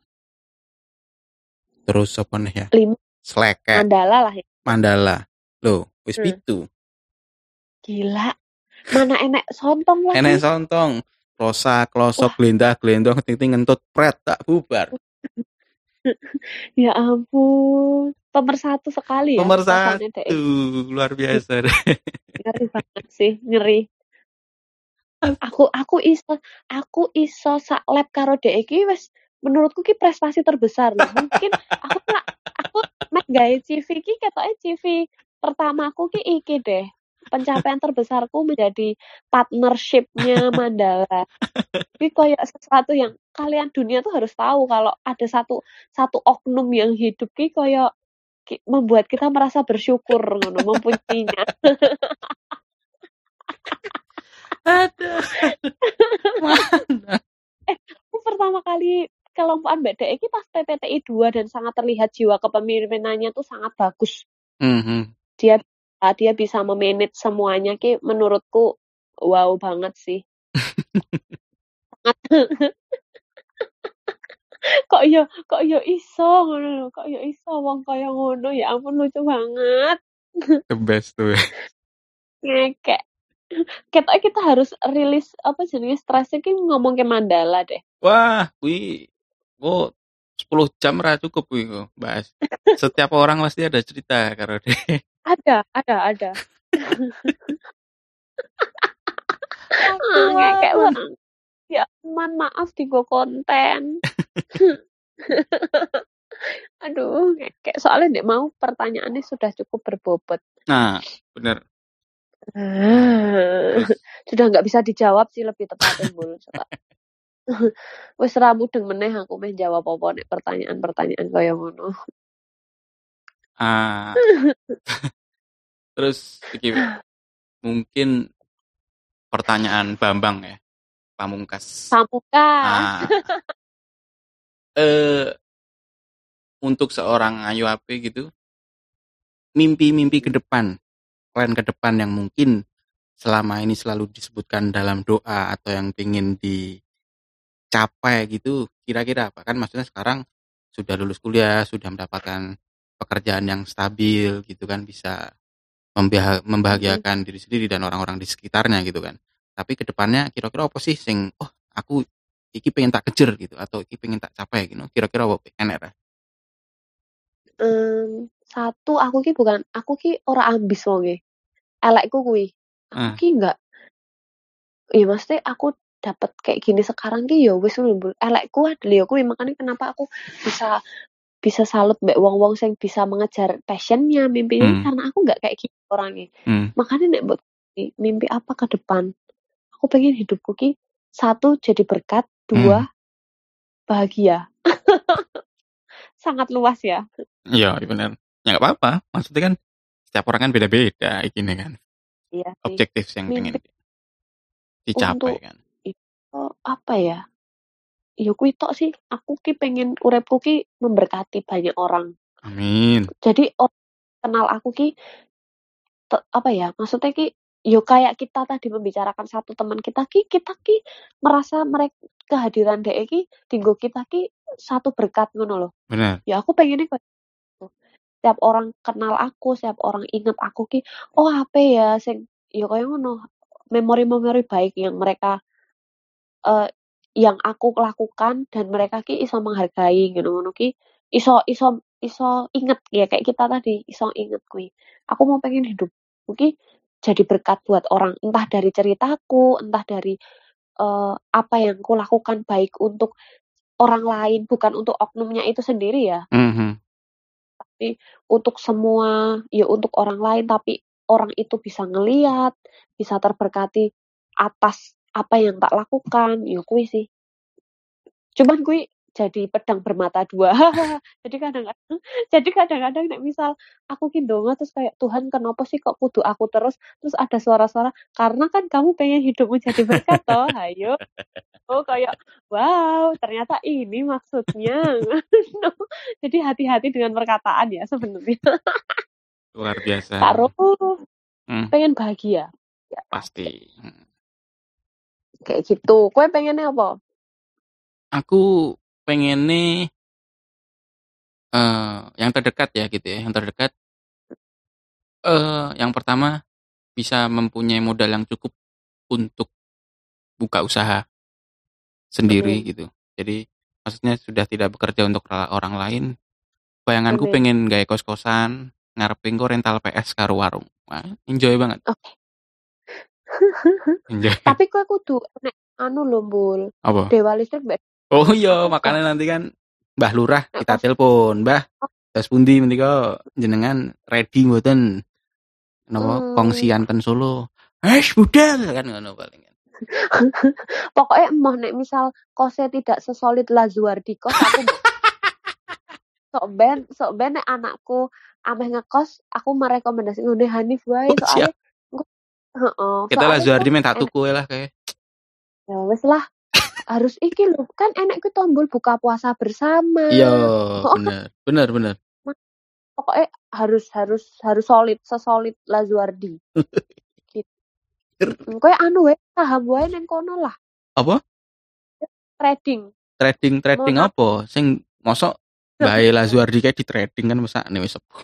[SPEAKER 1] Terus apa nih ya? Sleket.
[SPEAKER 2] Mandala lah ya.
[SPEAKER 1] Mandala. Loh, wis pitu. Hmm.
[SPEAKER 2] Gila. Mana enek Sontong lagi?
[SPEAKER 1] Enek Sontong. Rosa, klosok, glendah, glendong, ting-ting ngentut pret tak bubar.
[SPEAKER 2] Ya ampun. Pemersatu sekali ya.
[SPEAKER 1] Pemersatu. Luar biasa deh.
[SPEAKER 2] Ngeri banget sih, ngeri. Aku aku iso aku iso sak lab karo dhek iki wis menurutku ki prestasi terbesar loh. Mungkin aku aku mek gawe C V ki ketoke C V pertamaku ki iki deh. Pencapaian terbesarku menjadi partnership-nya Mandala. Ini kayak sesuatu yang kalian dunia tuh harus tahu kalau ada satu satu oknum yang hidup ki kayak ki, membuat kita merasa bersyukur ngono mempunyainya.
[SPEAKER 1] Aduh. Mana?
[SPEAKER 2] Eh, aku pertama kali kelompokan B D E ini pas P P T I dua dan sangat terlihat jiwa kepemimpinannya tuh sangat bagus.
[SPEAKER 1] Mm-hmm.
[SPEAKER 2] Dia dia bisa memanage semuanya ki menurutku wow banget sih. kok yo kok yo iso ngono kok yo iso wong kaya ngono ya ampun lucu banget.
[SPEAKER 1] The best tuh.
[SPEAKER 2] Ngekek. Kita kita harus rilis apa jenis stresnya ki ngomong ke Mandala deh.
[SPEAKER 1] Wah, wih, oh sepuluh jam ra cukup wih kok bahas. Setiap orang pasti ada cerita karo deh.
[SPEAKER 2] Ada, ada, ada. ah, ngekek banget. Ya, man maaf digo konten. Aduh, ngekek soalnya ndek mau pertanyaannya sudah cukup berbobot.
[SPEAKER 1] Nah, benar.
[SPEAKER 2] Ah, sudah nggak bisa dijawab sih lebih tepatnya Bul. Wes ra mudeng meneh aku meh jawab apa nek pertanyaan-pertanyaan kaya ngono.
[SPEAKER 1] Ah, terus iki mungkin pertanyaan Bambang ya, Pamungkas.
[SPEAKER 2] Pamungkas.
[SPEAKER 1] Ah, eh untuk seorang Ayu Ape gitu, mimpi-mimpi ke depan, plan ke depan yang mungkin selama ini selalu disebutkan dalam doa atau yang ingin dicapai gitu, kira-kira apa? Kan maksudnya sekarang sudah lulus kuliah, sudah mendapatkan pekerjaan yang stabil gitu kan, bisa membah-
[SPEAKER 2] Mm-mm.
[SPEAKER 1] membahagiakan diri sendiri dan orang-orang di sekitarnya gitu kan. Tapi ke depannya kira-kira apa sih sing oh aku iki pengen tak kejar gitu atau iki pengen tak capai gitu. Kira-kira apa enek ra?
[SPEAKER 2] Em, satu aku ki bukan aku ki ora ambis wonge. Elekku kuwi. Aku
[SPEAKER 1] Ah,
[SPEAKER 2] ki enggak ya maksudnya aku dapat kayak gini sekarang ki ya wis ngono. Elekku adalah ya kuwi makanya kenapa aku bisa bisa salut mbak wong-wong sing bisa mengejar passionnya, mimpinya
[SPEAKER 1] hmm,
[SPEAKER 2] karena aku nggak kayak gitu orangnya.
[SPEAKER 1] hmm,
[SPEAKER 2] Makanya nek buat mimpi apa ke depan? Aku pengen hidupku ki satu jadi berkat,
[SPEAKER 1] hmm.
[SPEAKER 2] dua bahagia. Sangat luas ya.
[SPEAKER 1] Iya, iya benar. Ya nggak apa-apa. Maksudnya kan setiap orang kan beda-beda ini kan.
[SPEAKER 2] Iya sih.
[SPEAKER 1] Objektif yang pengen
[SPEAKER 2] Mimpi
[SPEAKER 1] dicapai
[SPEAKER 2] untuk
[SPEAKER 1] kan.
[SPEAKER 2] itu apa ya? Ya kuwi tok sih. Aku ki pengen uripku ki memberkati banyak orang.
[SPEAKER 1] Amin.
[SPEAKER 2] Jadi orang kenal aku ki te- apa ya? Maksudnya ki yo kayak kita tadi membicarakan satu teman kita ki kita ki merasa mereka kehadiran D E ki tinggo kita ki satu berkat ngono loh.
[SPEAKER 1] Benar.
[SPEAKER 2] Ya aku pengennya kayak gitu. Setiap orang kenal aku, setiap orang inget aku ki, oh apa ya sing ya kayak ngono. Memori-memori baik yang mereka eh, yang aku lakukan dan mereka ki iso menghargai gitu ngono ki iso iso iso inget ya kayak kita tadi iso inget kui aku mau pengen hidup mungkin jadi berkat buat orang entah dari ceritaku entah dari eh, apa yang aku lakukan baik untuk orang lain bukan untuk oknumnya itu sendiri ya
[SPEAKER 1] Mhm.
[SPEAKER 2] tapi untuk semua ya untuk orang lain tapi orang itu bisa ngeliat bisa terberkati atas apa yang tak lakukan ya kui sih cuman gue jadi pedang bermata dua jadi kadang-kadang jadi kadang-kadang nek misal aku ki ndonga terus kayak Tuhan kenapa sih kok kudu aku terus terus ada suara-suara karena kan kamu pengen hidupmu jadi berkat toh ayo oh kayak wow ternyata ini maksudnya no. Jadi hati-hati dengan perkataan ya sebenarnya
[SPEAKER 1] Luar biasa.
[SPEAKER 2] karo
[SPEAKER 1] Hmm,
[SPEAKER 2] pengen bahagia ya pasti
[SPEAKER 1] pasti. Hmm.
[SPEAKER 2] kayak gitu kue pengennya apa
[SPEAKER 1] Aku pengennya eh yang terdekat ya gitu ya. Yang terdekat eh yang pertama bisa mempunyai modal yang cukup untuk buka usaha sendiri
[SPEAKER 2] amin
[SPEAKER 1] gitu. Jadi maksudnya sudah tidak bekerja untuk ra- orang lain. Bayanganku
[SPEAKER 2] amin
[SPEAKER 1] pengen gawe kos-kosan, ngarepin kok rental P S karo warung. Wah, enjoy banget.
[SPEAKER 2] oke
[SPEAKER 1] Enjoy.
[SPEAKER 2] tapi kue kudu nek anu lho mbul
[SPEAKER 1] Apa?
[SPEAKER 2] dewa listrik mbak
[SPEAKER 1] Oh iya,
[SPEAKER 2] aku gak
[SPEAKER 1] makanya nanti kan Mbah Lurah
[SPEAKER 2] nek
[SPEAKER 1] kita
[SPEAKER 2] pas
[SPEAKER 1] telepon, Mbah. Terus pundi mendika jenengan ready mboten napa
[SPEAKER 2] hmm,
[SPEAKER 1] kongsian ten Solo. Wes budal kan ngono paling kan.
[SPEAKER 2] pokoknya emang nek misal kosnya tidak sesolid Lazuardi kos aku mbok sok ben sok ben nek anakku ameh ngekos aku merekomendasi ngene Hanif wae
[SPEAKER 1] Oh,
[SPEAKER 2] soalnya
[SPEAKER 1] siap.
[SPEAKER 2] engko heeh
[SPEAKER 1] Kita lah
[SPEAKER 2] soalnya engko
[SPEAKER 1] Zuardi main tak
[SPEAKER 2] enak
[SPEAKER 1] tuku lah kayak.
[SPEAKER 2] ya wis lah harus iki lho kan enek ku tombol buka puasa bersama
[SPEAKER 1] Iya,
[SPEAKER 2] oh kan
[SPEAKER 1] bener. Bener, bener.
[SPEAKER 2] pokoknya harus harus harus solid sesolid Lazuardi gitu kowe anu wae saham wae ning kono lah
[SPEAKER 1] Apa?
[SPEAKER 2] trading mau
[SPEAKER 1] Trading-trading
[SPEAKER 2] nab
[SPEAKER 1] apa? Sing mosok Mbak Lazuardi kayak di trading kan masa nih wis sepuh.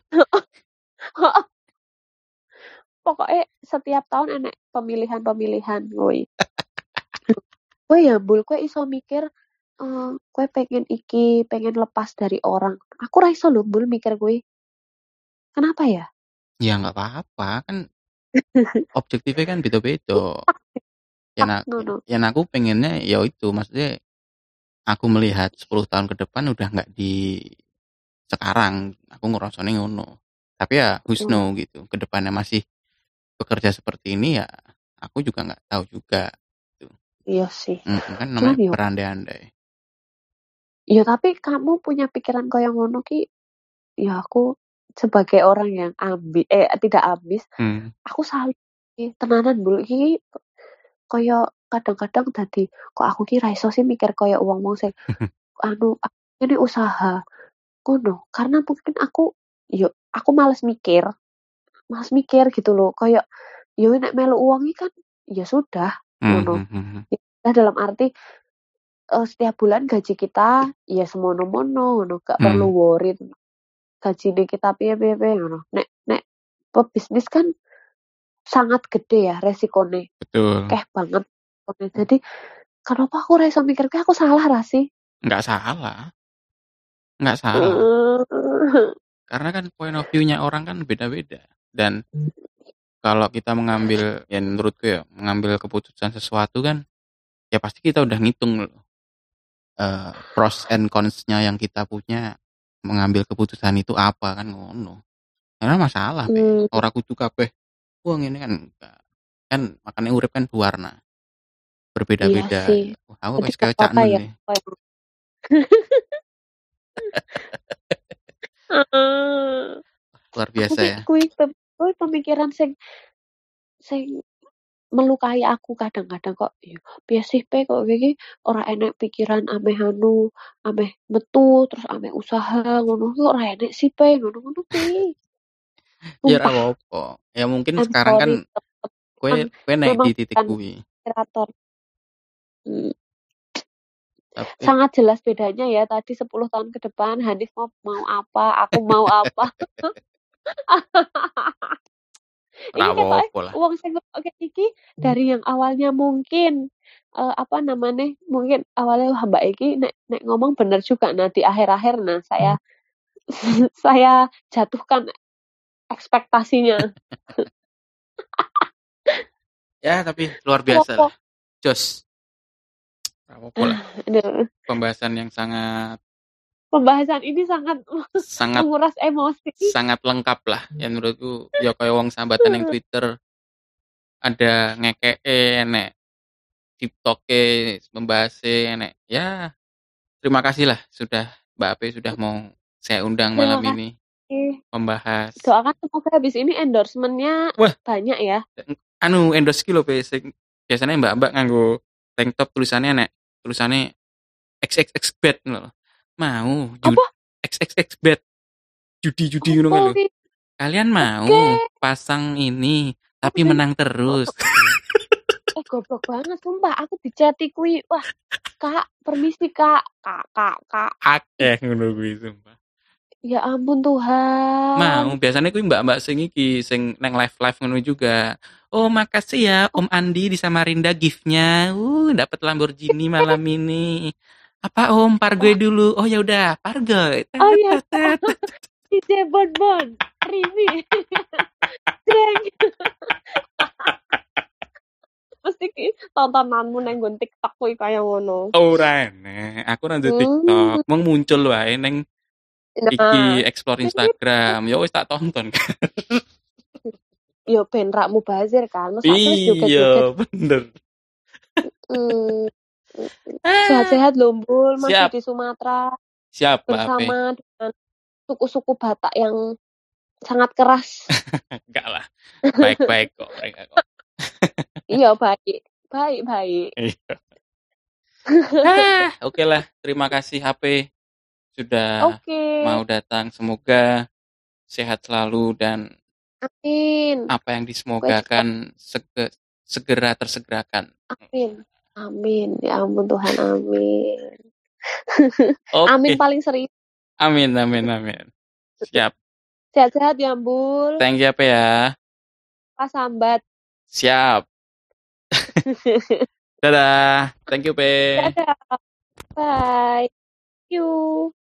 [SPEAKER 2] pokoknya setiap tahun enek pemilihan-pemilihan woi kowe ya bul kowe iso mikir eh kowe pengen iki pengen lepas dari orang aku ra iso lho bul mikir kowe kenapa ya
[SPEAKER 1] Ya nggak apa-apa kan objektifnya kan beda-beda. Ya,
[SPEAKER 2] tak
[SPEAKER 1] na-
[SPEAKER 2] ngono
[SPEAKER 1] ya aku pengennya ya itu maksudnya aku melihat sepuluh tahun ke depan udah nggak di sekarang aku ngerasanya ngono tapi ya who's
[SPEAKER 2] oh,
[SPEAKER 1] know gitu ke depannya masih bekerja seperti ini ya aku juga nggak tahu juga gitu.
[SPEAKER 2] iya sih
[SPEAKER 1] Mm, kan
[SPEAKER 2] cuman
[SPEAKER 1] namanya
[SPEAKER 2] yo
[SPEAKER 1] berandai-andai.
[SPEAKER 2] ya tapi kamu punya pikiran kaya ngono ki ya aku sebagai orang yang ambi eh tidak ambis,
[SPEAKER 1] Hmm.
[SPEAKER 2] aku salut iki tenanan Bul iki kaya kadang-kadang dadi kok aku ki ra iso sih mikir kaya wong-wong sing anu ini usaha ngono. Karena mungkin aku yo aku males mikir, males mikir gitu loh. Kayak yo nek melu uang iki kan ya sudah
[SPEAKER 1] Hmm,
[SPEAKER 2] ngono.
[SPEAKER 1] hmm, hmm, hmm.
[SPEAKER 2] Ya dalam arti eh, setiap bulan gaji kita ya semono-mono ngono, gak perlu
[SPEAKER 1] Hmm,
[SPEAKER 2] worry gajine kita piye-piye ngono. Nek nek pebisnis kan sangat gede ya resikone,
[SPEAKER 1] betul.
[SPEAKER 2] akeh banget. Oke, jadi kenapa aku ra iso mikir aku salah ra sih?
[SPEAKER 1] Nggak salah, nggak salah.
[SPEAKER 2] Eee,
[SPEAKER 1] Karena kan point of view-nya orang kan beda-beda. Dan kalau kita mengambil, ya menurutku ya, mengambil keputusan sesuatu kan, ya pasti kita udah ngitung loh. eh, pros and cons-nya yang kita punya mengambil keputusan itu apa kan ngono. Karena masalah be,
[SPEAKER 2] mmm,
[SPEAKER 1] ora kudu kabeh. Wah ini kan enggak. Kan makanya urip kan berwarna,
[SPEAKER 2] iya
[SPEAKER 1] berbeda-beda.
[SPEAKER 2] sih.
[SPEAKER 1] Wah, aku
[SPEAKER 2] Jadi
[SPEAKER 1] wis
[SPEAKER 2] gak
[SPEAKER 1] kayak Cak
[SPEAKER 2] apa-apa
[SPEAKER 1] Nun
[SPEAKER 2] ya
[SPEAKER 1] nih.
[SPEAKER 2] kayak heeh.
[SPEAKER 1] Luar
[SPEAKER 2] Aku
[SPEAKER 1] biasa
[SPEAKER 2] ki
[SPEAKER 1] ya.
[SPEAKER 2] kuwi pem kuwi pemikiran sing sing melukai aku kadang-kadang kok, iya piye sih pe kok kowe iki ora enek pikiran ameh anu, ameh metu terus ameh usaha ngono kok ora enek sih pe ngono-ngono kuwi.
[SPEAKER 1] Ya ora
[SPEAKER 2] Sumpah,
[SPEAKER 1] apa-apa. Ya mungkin
[SPEAKER 2] I'm
[SPEAKER 1] sekarang kan
[SPEAKER 2] sorry tetep
[SPEAKER 1] kue
[SPEAKER 2] memang
[SPEAKER 1] kue naik
[SPEAKER 2] memang
[SPEAKER 1] di titik
[SPEAKER 2] bukan
[SPEAKER 1] kuwi.
[SPEAKER 2] kreator. Mmm,
[SPEAKER 1] Tapi
[SPEAKER 2] sangat jelas bedanya ya tadi sepuluh tahun ke depan Hanif mau mau apa, aku mau apa.
[SPEAKER 1] ora
[SPEAKER 2] Iki ketoke
[SPEAKER 1] apa-apa lah.
[SPEAKER 2] wong sing ngrungokke iki dari yang awalnya mungkin, eee, apa namanya, mungkin awalnya, "Wah, Mbak iki nek nek ngomong bener juga." Nah, di akhir-akhir nah saya saya jatuhkan ekspektasinya.
[SPEAKER 1] Ya tapi luar biasa
[SPEAKER 2] Opo
[SPEAKER 1] lah. Jos. Ora apa-apa lah.
[SPEAKER 2] aduh,
[SPEAKER 1] Pembahasan yang sangat
[SPEAKER 2] pembahasan ini sangat
[SPEAKER 1] sangat
[SPEAKER 2] menguras emosi.
[SPEAKER 1] sangat lengkap lah. Ya menurutku ya kayak wong sambatan yang Twitter ada ngekeke enek TikTok-e membahasnya enek. Ya, terima kasih lah sudah Mbak Ape sudah mau saya undang malam
[SPEAKER 2] Terima
[SPEAKER 1] ini
[SPEAKER 2] kasih.
[SPEAKER 1] membahas.
[SPEAKER 2] Doakan semoga habis ini endorsement-nya
[SPEAKER 1] Wah,
[SPEAKER 2] banyak ya.
[SPEAKER 1] anu endorse ki lho Pe, sing biasanya Mbak-mbak nganggo tank top tulisannya nek tulisannya X X X bet ngono lho. Mau jud
[SPEAKER 2] Apa?
[SPEAKER 1] X X X bet judi-judi ngono
[SPEAKER 2] Opo
[SPEAKER 1] kan lho.
[SPEAKER 2] ki?
[SPEAKER 1] Kalian
[SPEAKER 2] Oke.
[SPEAKER 1] mau pasang ini tapi
[SPEAKER 2] Oke.
[SPEAKER 1] menang terus.
[SPEAKER 2] Eh goblok banget sumpah aku di-chat kuwi. Wah, Kak, permisi Kak. Kak, Kak, Kak.
[SPEAKER 1] Akeh ngono kuwi sumpah.
[SPEAKER 2] Ya ampun Tuhan.
[SPEAKER 1] Mau, biasanya kuwi mbak-mbak sing iki sing neng live-live ngono juga. Oh, makasih ya Om Andi di Samarinda gift-nya. Uh, dapat Lamborghini malam ini. Apa Om, Pargoy
[SPEAKER 2] Wah,
[SPEAKER 1] dulu. Oh ya udah, Pargoy.
[SPEAKER 2] oh
[SPEAKER 1] Tet,
[SPEAKER 2] iya
[SPEAKER 1] tet, tet.
[SPEAKER 2] D J Bon Bon. Rimi. Jreng. Mesti ki tontonanmu nang nggon TikTok kuwi kaya ngono.
[SPEAKER 1] Ora enek. Aku nang
[SPEAKER 2] Hmm.
[SPEAKER 1] TikTok, mung muncul wae neng iki
[SPEAKER 2] Nah,
[SPEAKER 1] explore Instagram. Ya wis tak tonton.
[SPEAKER 2] yo ben rak mubazir kan. Masa aku wis joget-joget.
[SPEAKER 1] Iya, bener.
[SPEAKER 2] Hmm.
[SPEAKER 1] Ah,
[SPEAKER 2] Sehat-sehat loh, Mbul, masih
[SPEAKER 1] siap,
[SPEAKER 2] di Sumatera
[SPEAKER 1] siap Mbak Ape.
[SPEAKER 2] bersama dengan suku-suku Batak yang sangat keras.
[SPEAKER 1] Enggak lah. Baik-baik kok mereka kok.
[SPEAKER 2] Iya, baik. Baik, baik.
[SPEAKER 1] Iya. Ah, oke lah. Terima kasih H P sudah
[SPEAKER 2] Oke.
[SPEAKER 1] mau datang. Semoga sehat selalu dan
[SPEAKER 2] Amin.
[SPEAKER 1] apa yang
[SPEAKER 2] Gue juga
[SPEAKER 1] disemogakan sege- segera tersegerakan.
[SPEAKER 2] amin. Amin. Ya ampun Tuhan, amin. Amin
[SPEAKER 1] Oke.
[SPEAKER 2] paling serius.
[SPEAKER 1] Amin, amin, amin. Siap.
[SPEAKER 2] Sehat-sehat ya, Mbul.
[SPEAKER 1] Thank you H P ya.
[SPEAKER 2] Pas sambat.
[SPEAKER 1] Siap. Dadah. Thank you P.
[SPEAKER 2] Dadah. Bye. See you.